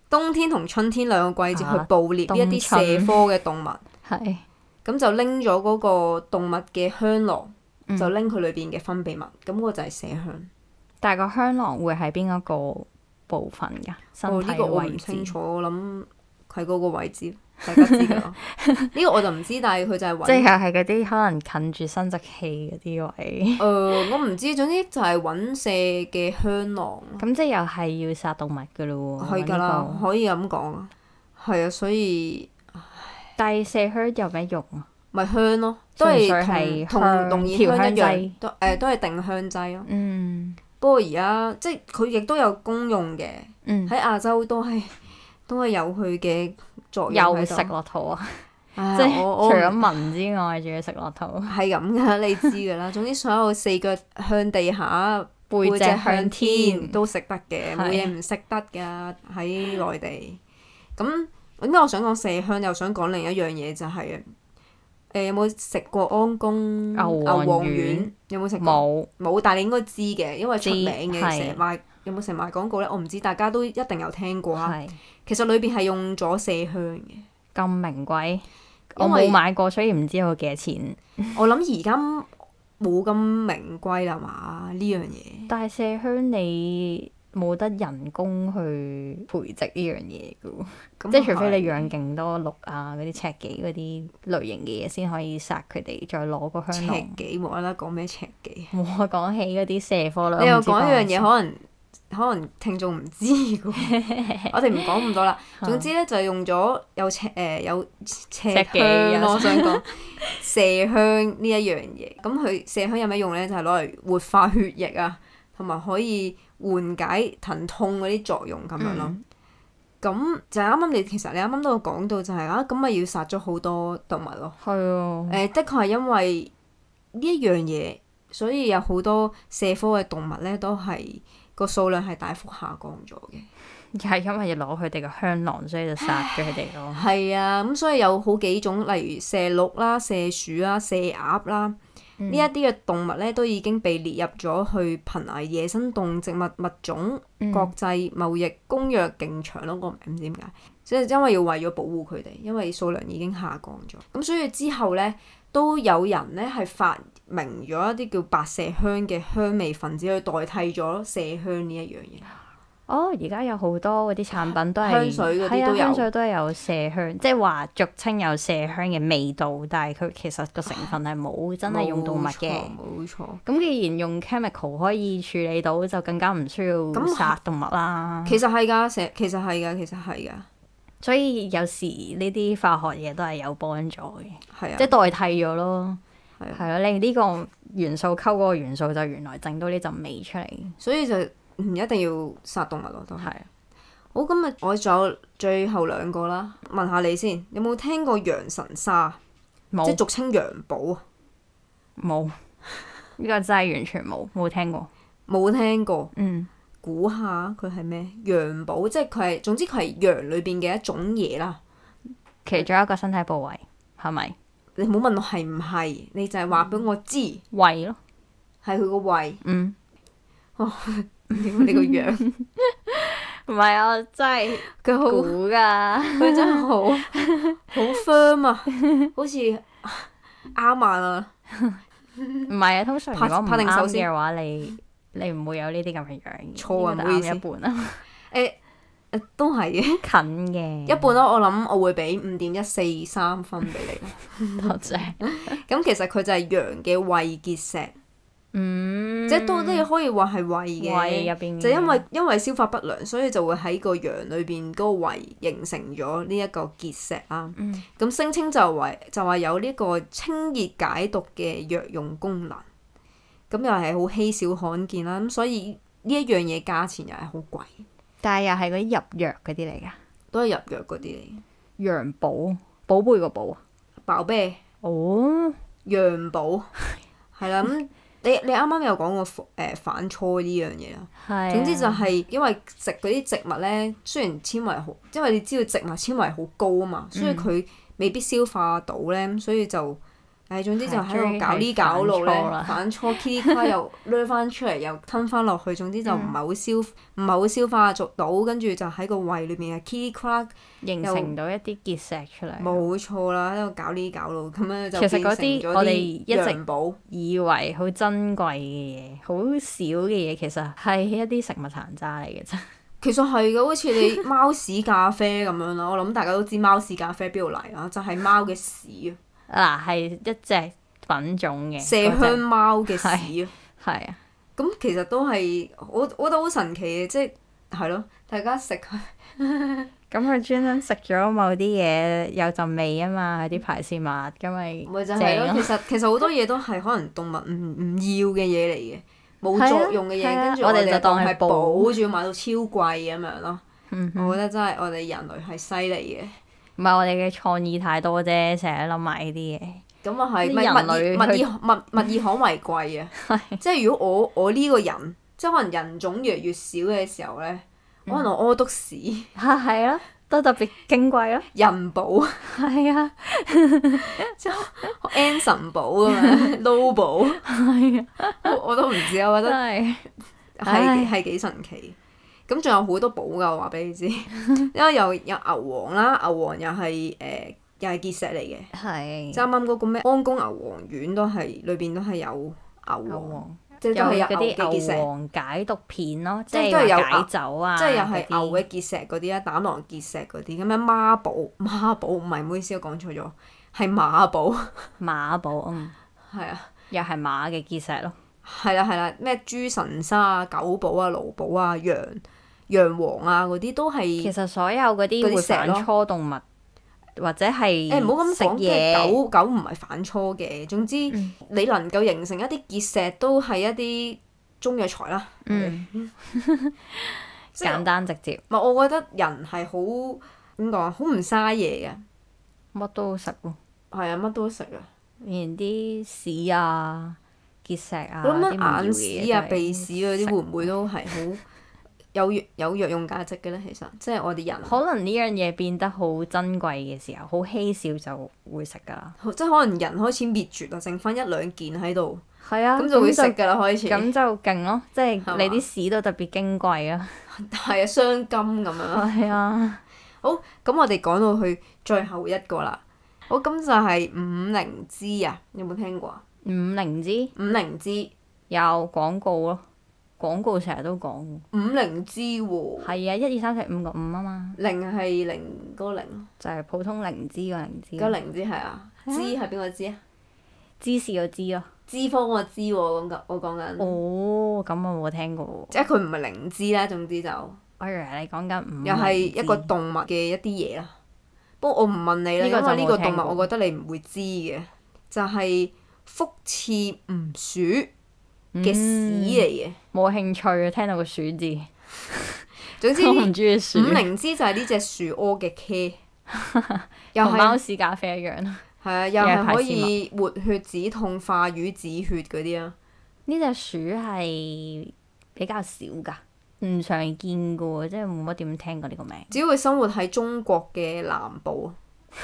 冬天同春天兩個季節去捕獵一啲蛇科嘅動物。 係。 咁就拎咗嗰個動物嘅香囊，就拎佢裏邊嘅分泌物，咁嗰個就係麝香。 但係個香囊會喺邊一個部分㗎？身體呢個我唔位置清楚，我諗喺嗰個位置，大家知㗎啦。呢個我就唔知，但係佢就係揾。 即係係嗰啲可能近住生殖器嗰啲位。 我唔知，總之就係揾蛇嘅香囊。 咁即係又係要殺動物㗎咯喎。 係㗎啦，可以咁講啊。係啊，所以。 但係麝香有咩用啊？ 咪香咯，都係同龍涎香一樣，都係定香劑咯。不過而家即係佢亦都有功用嘅，喺亞洲都係有佢嘅作用喺度。 又食落肚啊！即係除咗聞之外，仲要食落肚。係咁噶，你知噶啦。總之所有四腳向地下，背脊向天都食得嘅，冇嘢唔食得噶喺內地。咁點解我想講麝香，又想講另一樣嘢就係有冇食過安宮牛黃丸？有冇食過？冇，但係你應該知嘅，因為出名嘅，成日賣。有冇成日賣廣告咧？我唔知，大家都一定有聽過啊。其實裏邊係用咗麝香嘅。 咁名貴？我冇買過，所以唔知佢幾多錢。 我諗而家冇咁名貴啦嘛，呢樣嘢。但係麝香你冇得人工去培植呢樣嘢嘅喎，即係除非你養勁多鹿啊嗰啲赤幾嗰啲類型嘅嘢，先可以殺佢哋，再攞個香囊。赤幾冇啦啦講咩赤幾？ 冇啊，講起嗰啲蛇科啦。 你又講一樣嘢，可能聽眾唔知嘅喎，我哋唔講咁多啦。總之咧就係用咗有赤香咯，我想講麝香呢一樣嘢。咁佢麝香有咩用咧？就係攞嚟活化血液啊，同埋可以緩解疼痛嗰啲作用咁樣咯。咁就係啱啱其實你啱啱都有講到就係咁咪要殺咗好多動物咯。係啊。的確係因為呢一樣嘢，所以有好多麝科嘅動物咧都係個數量係大幅下降咗嘅。 係因為要攞佢哋嘅香囊，所以就殺咗佢哋咯。 係啊，咁所以有好幾種，例如麝鹿啦、麝鼠啦、麝鴨啦，呢一啲嘅動物咧都已經被列入咗去瀕危野生動植物物種國際貿易公約勁長咯，個名唔知點解，即係因為要為咗保護佢哋，因為數量已經下降咗。咁所以之後咧都有人咧係發明咗一啲叫白麝香嘅香味分子去代替咗麝香呢一樣嘢。 哦，而家有好多嗰啲產品都係香水嗰啲都有， 香水都係有麝香，即係話俗稱有麝香嘅味道，但係佢其實個成分係冇真係用動物嘅。冇錯。咁既然用 chemical 可以處理到，就更加唔需要殺動物啦。其實係㗎，其實係㗎。所以有時呢啲化學嘢都係有幫助嘅，即係代替咗咯。係咯，你呢個元素溝嗰個元素，就原來整到呢陣味出嚟。所以就唔一定要殺動物咯，都係。好，今日我仲有最後兩個啦，問下你先，有冇聽過洋神沙？冇。即係俗稱洋寶啊？冇，呢個真係完全冇聽過。冇聽過。估下佢係咩？羊寶，即係佢係，總之佢係羊裏邊嘅一種嘢啦。其中一個身體部位係咪？你唔好問我係唔係，你就係話俾我知。胃咯。係佢個胃。哦，點解你個樣？唔係啊，真係佢好估㗎，佢真係好 firm 啊，好似啱啊。唔係啊，通常如果唔啱嘅話，你唔會有呢啲咁嘅樣。錯啊，唔好意思。一半啊。都係嘅。近嘅。一半咯，我諗我會俾5.143分俾你。多謝。咁其實佢就係羊嘅胃結石。即係都可以話係胃嘅。胃入邊。就因為消化不良，所以就會喺個羊裏邊嗰個胃形成咗呢一個結石啦。咁聲稱就話有呢個清熱解毒嘅藥用功能。咁又係好稀少罕見啦，咁所以呢一樣嘢價錢又係好貴。但係又係嗰啲入藥嗰啲嚟㗎？都係入藥嗰啲嚟。羊寶，寶貝個寶啊？寶貝。哦。羊寶。係啦，咁你啱啱有講過反芻呢樣嘢啦。係。總之就係因為食嗰啲植物咧，雖然纖維好，因為你知道植物纖維好高啊嘛，所以佢未必消化到咧，所以就總之就喺度搞呢搞路咧，反芻 Kitty 卡又掠翻出嚟，又吞翻落去，總之就唔係好消化到，跟住就喺個胃裏面啊 Kitty 卡形成到一啲結石出嚟。 冇錯啦，喺度搞呢搞路，咁樣就其實嗰啲我哋一直以為好珍貴嘅嘢，好少嘅嘢，其實係一啲食物殘渣嚟嘅啫。 其實係嘅，好似你貓屎咖啡咁樣啦，我諗大家都知貓屎咖啡邊度嚟啦，就係貓嘅屎啊！嗱，係一隻品種嘅麝香貓嘅屎啊， 係啊， 咁其實都係我覺得好神奇嘅，即係咯，大家食佢。 咁佢專登食咗某啲嘢有陣味啊嘛，啲排泄物咁咪就係咯，其實好多嘢都係可能動物唔要嘅嘢嚟嘅，冇作用嘅嘢，跟住我哋就當係寶，仲要買到超貴咁樣咯。我覺得真係我哋人類係犀利嘅。 唔係我哋嘅創意太多啫，成日諗埋呢啲嘢。 咁啊係，物以罕為貴啊！即係如果我呢個人，即係可能人種越嚟越少嘅時候咧，可能我屙篤屎係啊，都特別矜貴咯。 人寶係啊， 即係 Anson 寶咁樣，Low 寶係啊，我都唔知，我覺得係幾神奇。咁仲有好多寶㗎，我話俾你知，因為有牛黃啦，牛黃又係又係結石嚟嘅，即係啱啱嗰個咩安宮牛黃丸都係裏邊都係有牛黃，即係都係有牛嘅結石。 牛黃解毒片咯，即係解酒啊， 即係又係牛嘅結石嗰啲啊，膽囊結石嗰啲咁樣孖寶唔係，唔好意思，我講錯咗，係馬寶。 馬寶係啊，又係馬嘅結石咯。 係啦，咩豬神沙啊、狗寶啊、盧寶啊、羊黃啊嗰啲都係。其實所有嗰啲會反芻動物或者係唔好咁講，即係狗唔係反芻嘅。總之你能夠形成一啲結石都係一啲中藥材啦。 簡單直接。 唔係，我覺得人係好點講啊，好唔嘥嘢嘅。 乜都食喎。係啊，乜都食啊。 連啲屎啊、結石啊、 我諗眼屎啊、鼻屎嗰啲會唔會都係好有藥用價值嘅咧？其實即係我哋人可能呢樣嘢變得好珍貴嘅時候，好稀少就會食㗎啦。 即係可能人開始滅絕啦，剩翻一兩件喺度。 係啊， 咁就會食㗎啦，開始。 咁就勁咯，即係你啲屎都特別矜貴啊。 係啊，雙金咁樣。係啊。 好，咁我哋講到去最後一個啦。好，咁就係五靈芝啊，有冇聽過啊？ 五靈芝有廣告咯，廣告成日都講。 五靈芝喎。 係啊，1、2、3、4、5個5啊嘛。 靈係零嗰個靈。就係普通靈芝個靈芝。 個靈芝係啊。芝係邊個芝啊？ 芝士個芝咯。 脂肪個脂喎，我講緊。 哦，咁我冇聽過喎。 即係佢唔係靈芝啦，總之就。 我以為你講緊五靈芝。 又係一個動物嘅一啲嘢啦。不過我唔問你啦，因為呢個動物我覺得你唔會知嘅，就係福翅鼯鼠嘅屎嚟嘅。 冇興趣啊！聽到個鼠字。 總之， 我唔中意鼠。 五靈芝就係呢隻樹屙嘅茄， 同貓屎咖啡一樣。 係啊，又係可以活血止痛、化瘀止血嗰啲啊。 呢隻鼠係比較少㗎。唔常見嘅喎，即係冇乜點聽過呢個名。 只會生活喺中國嘅南部，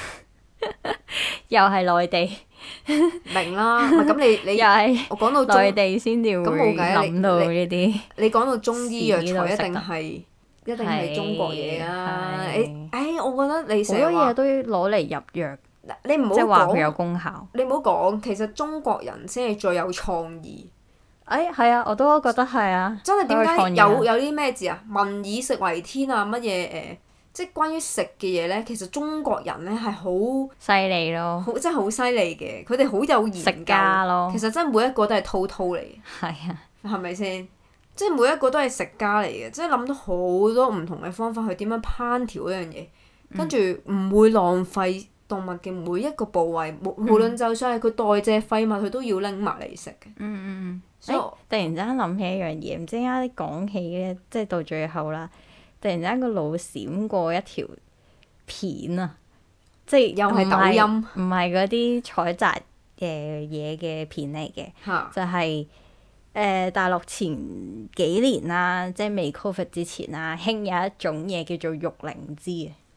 又係內地。 明啦，唔係咁你又係我講到內地先至會諗到呢啲。 你講到中醫藥材一定係中國嘢啦。我覺得你成日話好多嘢都攞嚟入藥， 你唔好即係話佢有功效。 你唔好講，其實中國人先係最有創意。 係啊，我都覺得係啊。 真係點解有啲咩字啊？民以食為天啊！乜嘢即係關於食嘅嘢咧，其實中國人咧係好犀利咯， 真係好犀利嘅。佢哋好有研究。食家咯。 其實真係每一個都係滔滔嚟嘅。 係啊。係咪先？即係每一個都係食家嚟嘅，即係諗到好多唔同嘅方法去點樣烹調嗰樣嘢，跟住唔會浪費動物嘅每一個部位，無論就算係佢代謝廢物，佢都要拎埋嚟食嘅。 所以突然之間諗起一樣嘢，唔知點解講起咧，即係到最後啦，突然之間個腦閃過一條片啊，即係又係抖音， 唔係嗰啲採集嘅嘢嘅片嚟嘅，就係大陸前幾年啦，即係未 Covid 之前啦，興有一種嘢叫做玉靈芝啊。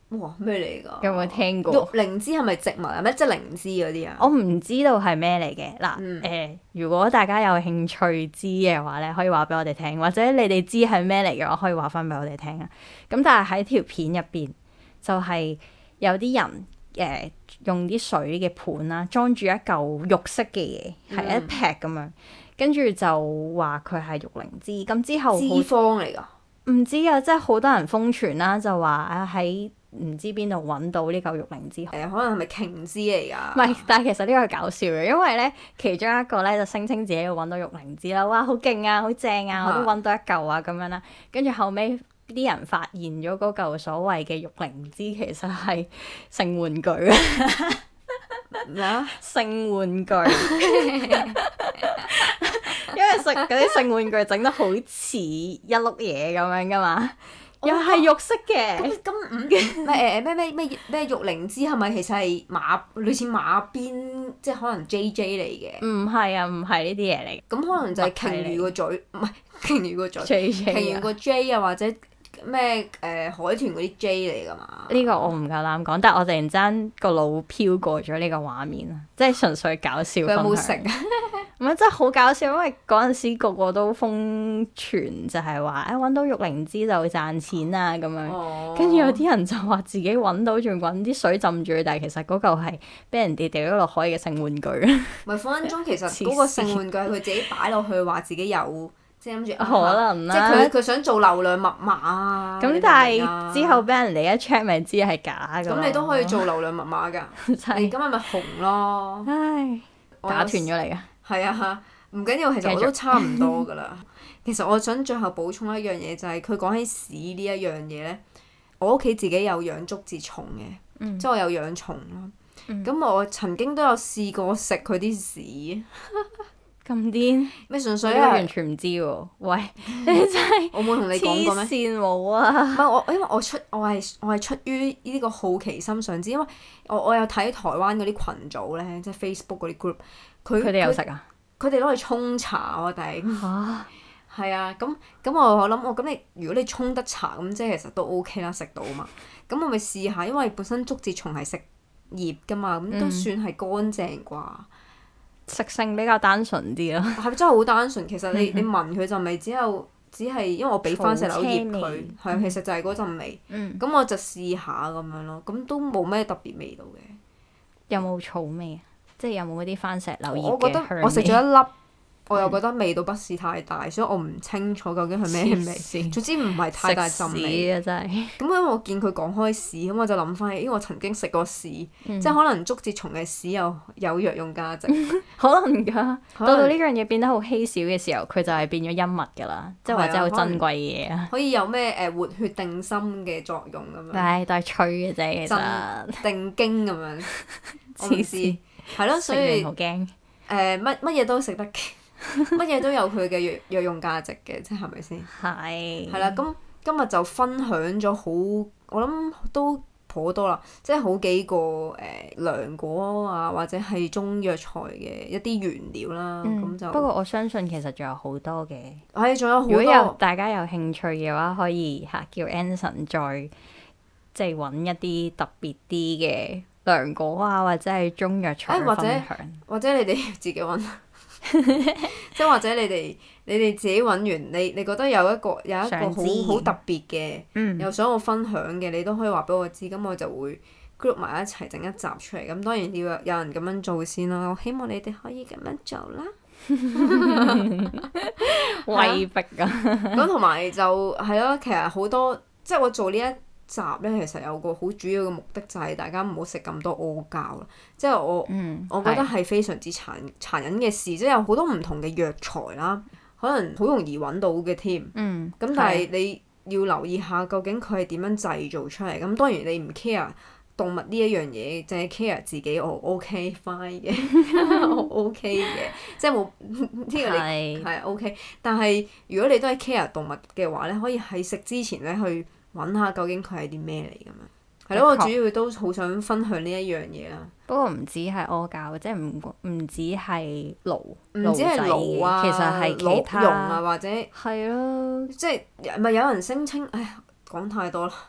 哇，咩嚟㗎？ 有冇聽過？ 玉靈芝係咪植物啊？咩即係靈芝嗰啲啊？ 我唔知道係咩嚟嘅嗱。如果大家有興趣知嘅話咧，可以話俾我哋聽，或者你哋知係咩嚟嘅話，可以話翻俾我哋聽啊。咁但係喺條片入邊，就係有啲人用啲水嘅盤啦，裝住一嚿肉色嘅嘢，係一劈咁樣，跟住就話佢係玉靈芝。咁之後脂肪嚟㗎？唔知啊，即係好多人瘋傳啦，就話啊喺唔知邊度揾到呢嚿玉靈芝。 可能係咪瓊枝嚟㗎？ 唔係，但係其實呢個係搞笑嘅，因為咧其中一個咧就聲稱自己要揾到玉靈芝啦，哇好勁啊，好正啊，我都揾到一嚿啊咁樣啦。跟住後尾啲人發現咗嗰嚿所謂嘅玉靈芝其實係性玩具啊！ 咩啊？ 性玩具。因為食嗰啲性玩具整得好似一碌嘢咁樣噶嘛，又係肉色嘅。 咁咩玉靈芝係咪其實係類似馬鞭，即係可能 JJ 嚟嘅？ 唔係啊，唔係呢啲嘢嚟。 咁可能就係鯨魚個嘴，唔係鯨魚個嘴，鯨魚個 J 啊，或者咩海豚嗰啲 J 嚟㗎嘛？ 呢個我唔夠膽講，但係我突然之間個腦飄過咗呢個畫面啊，即係純粹搞笑。佢有冇食啊？ 唔係真係好搞笑，因為嗰陣時個個都瘋傳就係話揾到玉靈芝就會賺錢啊咁樣，跟住有啲人就話自己揾到仲揾啲水浸住，但係其實嗰嚿係俾人哋掉咗落海嘅性玩具。 唔係分分鐘其實嗰個性玩具係佢自己擺落去話自己有，即係諗住可能啦， 即係佢想做流量密碼啊。 咁但係之後俾人哋一 check 咪知係假㗎。 咁你都可以做流量密碼㗎，你今日咪紅咯。 唉，打斷咗你㗎。 係啊，唔緊要，其實我都差唔多噶啦。其實我想最後補充一樣嘢，就係佢講起屎呢一樣嘢咧，我屋企自己有養竹節蟲嘅，即係我有養蟲咯。咁我曾經都有試過食佢啲屎。 咁癲？咩純粹？我完全唔知喎。喂，你真係我冇同你講過咩？黐線冇啊！ 唔係我，因為我係出於呢個好奇心想知，因為我有睇台灣嗰啲群組咧，即係 Facebook 嗰啲 group。佢哋有食啊？佢哋攞嚟沖茶我哋嚇，係啊，咁我諗咁你如果你沖得茶咁，即係其實都 OK 啦，食到嘛。咁我咪試下，因為本身竹節蟲係食葉噶嘛，咁都算係乾淨啩。 食性比較單純啲咯。 係咪真係好單純？其實你聞佢陣味只係因為我俾番石榴葉佢，係其實就係嗰陣味。咁我就試下咁樣咯，咁都冇咩特別味道嘅。 有冇草味啊？即係有冇嗰啲番石榴葉嘅香味？ 我覺得我食咗一粒，我又覺得味道不是太大，所以我唔清楚究竟係咩味。總之唔係太大陣味。食屎啊！真係。咁因為我見佢講開屎，咁我就諗翻起，因為我曾經食過屎，即係可能竹節蟲嘅屎有藥用價值。 可能㗎。到呢樣嘢變得好稀少嘅時候，佢就係變咗恩物㗎啦，即係或者好珍貴嘅嘢啊。 可以有咩活血定心嘅作用咁樣。 唉，都係吹嘅啫，其實。 定經咁樣。黐線。係咯，所以好驚。 乜嘢都食得嘅，乜嘢都有佢嘅藥用價值嘅，即係咪先？ 係。係啦，咁今日就分享咗好，我諗都頗多啦，即係好幾個涼果啊，或者係中藥材嘅一啲原料啦。咁就不過我相信其實仲有好多嘅。 係，仲有好多。 如果大家有興趣嘅話，可以叫 Anson 再即係揾一啲特別啲嘅涼果啊，或者係中藥材分享， 或者你哋自己揾，即係或者你哋自己揾完，你覺得有一個好特別嘅，又想我分享嘅，你都可以話俾我知，咁我就會 group 埋一齊整一集出嚟。咁當然要有人咁樣做先啦，我希望你哋可以咁樣做啦。 威逼啊！ 咁同埋就係咯，其實好多即係我做呢一集咧，其實有個好主要嘅目的就係大家唔好食咁多阿膠啦，即係我覺得係非常之殘忍嘅事，即係有好多唔同嘅藥材啦，可能好容易揾到嘅添。咁但係你要留意下究竟佢係點樣製造出嚟。咁當然你唔 care 動物呢一樣嘢，淨係 care 自己，我 OK fine 嘅，我 OK 嘅，即係冇呢個你係 OK。但係如果你都係 care 動物嘅話咧，可以喺食之前咧去揾下究竟佢係啲咩嚟咁樣，係咯，我主要都好想分享呢一樣嘢啦。 不過唔止係阿膠，即係唔止係爐， 唔止係爐啊， 其實係其他用啊，或者係咯， 即係咪有人聲稱？唉，講太多啦，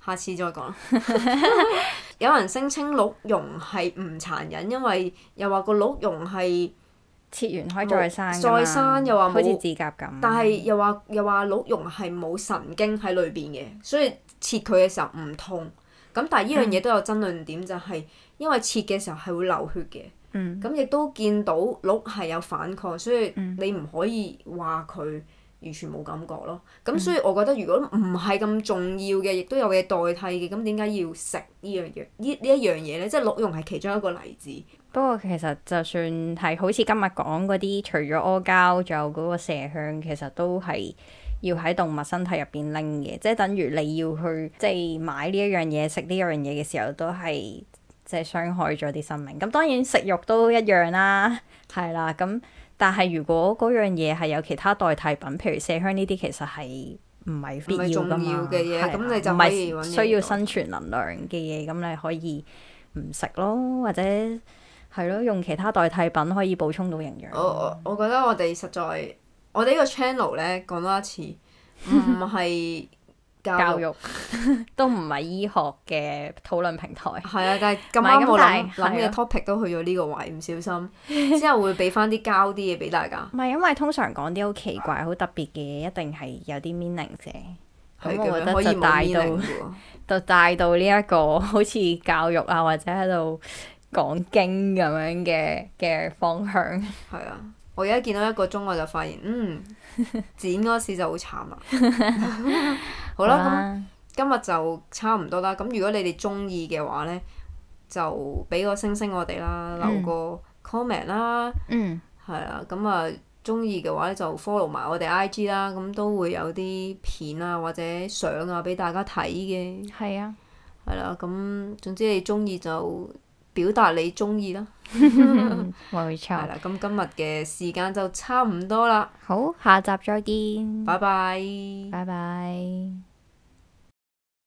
下次再講。有人聲稱鹿茸係唔殘忍，因為又話個鹿茸係切完可以再生， 再生又話好似指甲咁。 但係又話鹿茸係冇神經喺裏邊嘅，所以切佢嘅時候唔痛。咁但係呢樣嘢都有爭論點，就係因為切嘅時候係會流血嘅。咁亦都見到鹿係有反抗，所以你唔可以話佢完全冇感覺咯。咁所以我覺得如果唔係咁重要嘅，亦都有嘢代替嘅，咁點解要食呢一樣嘢咧？即係鹿茸係其中一個例子。 不過其實就算係好似今日講嗰啲，除咗阿膠，仲有嗰個麝香，其實都係要喺動物身體入邊拎嘅，即係等於你要去即係買呢一樣嘢食呢樣嘢嘅時候，都係即係傷害咗啲生命。咁當然食肉都一樣啦，係啦。咁但係如果嗰樣嘢係有其他代替品，譬如麝香呢啲，其實係唔係必要㗎嘛？唔係重要嘅嘢，咁你就可以揾嘢。唔係需要生存能量嘅嘢，咁你可以唔食咯，或者係咯，用其他代替品可以補充到營養。 我覺得我哋實在，我哋呢個 channel 咧講多一次，唔係教育都唔係醫學嘅討論平台。 係啊，但係咁啱我諗嘅 topic 都去咗呢個位，唔小心之後會俾翻啲膠啲嘢俾大家。 唔係因為通常講啲好奇怪、好特別嘅嘢，一定係有啲 meaning 嘅。咁我覺得就帶到呢一個好似教育啊，或者喺度講經咁樣嘅方向。 係啊，我而家見到1個鐘我就發現，剪嗰時就好慘啦。好啦，咁今日就差唔多啦。咁如果你哋中意嘅話呢，就俾個星星我哋啦，留個 comment 啦。係啊，咁啊中意嘅話咧就 follow 埋我哋 IG 啦，咁都會有啲片啊或者相啊俾大家睇嘅。係啊。係啦，咁總之你中意就表達你中意啦。 冇錯。係啦，咁今日嘅時間就差唔多啦。 好，下集再見。 拜拜。 拜拜。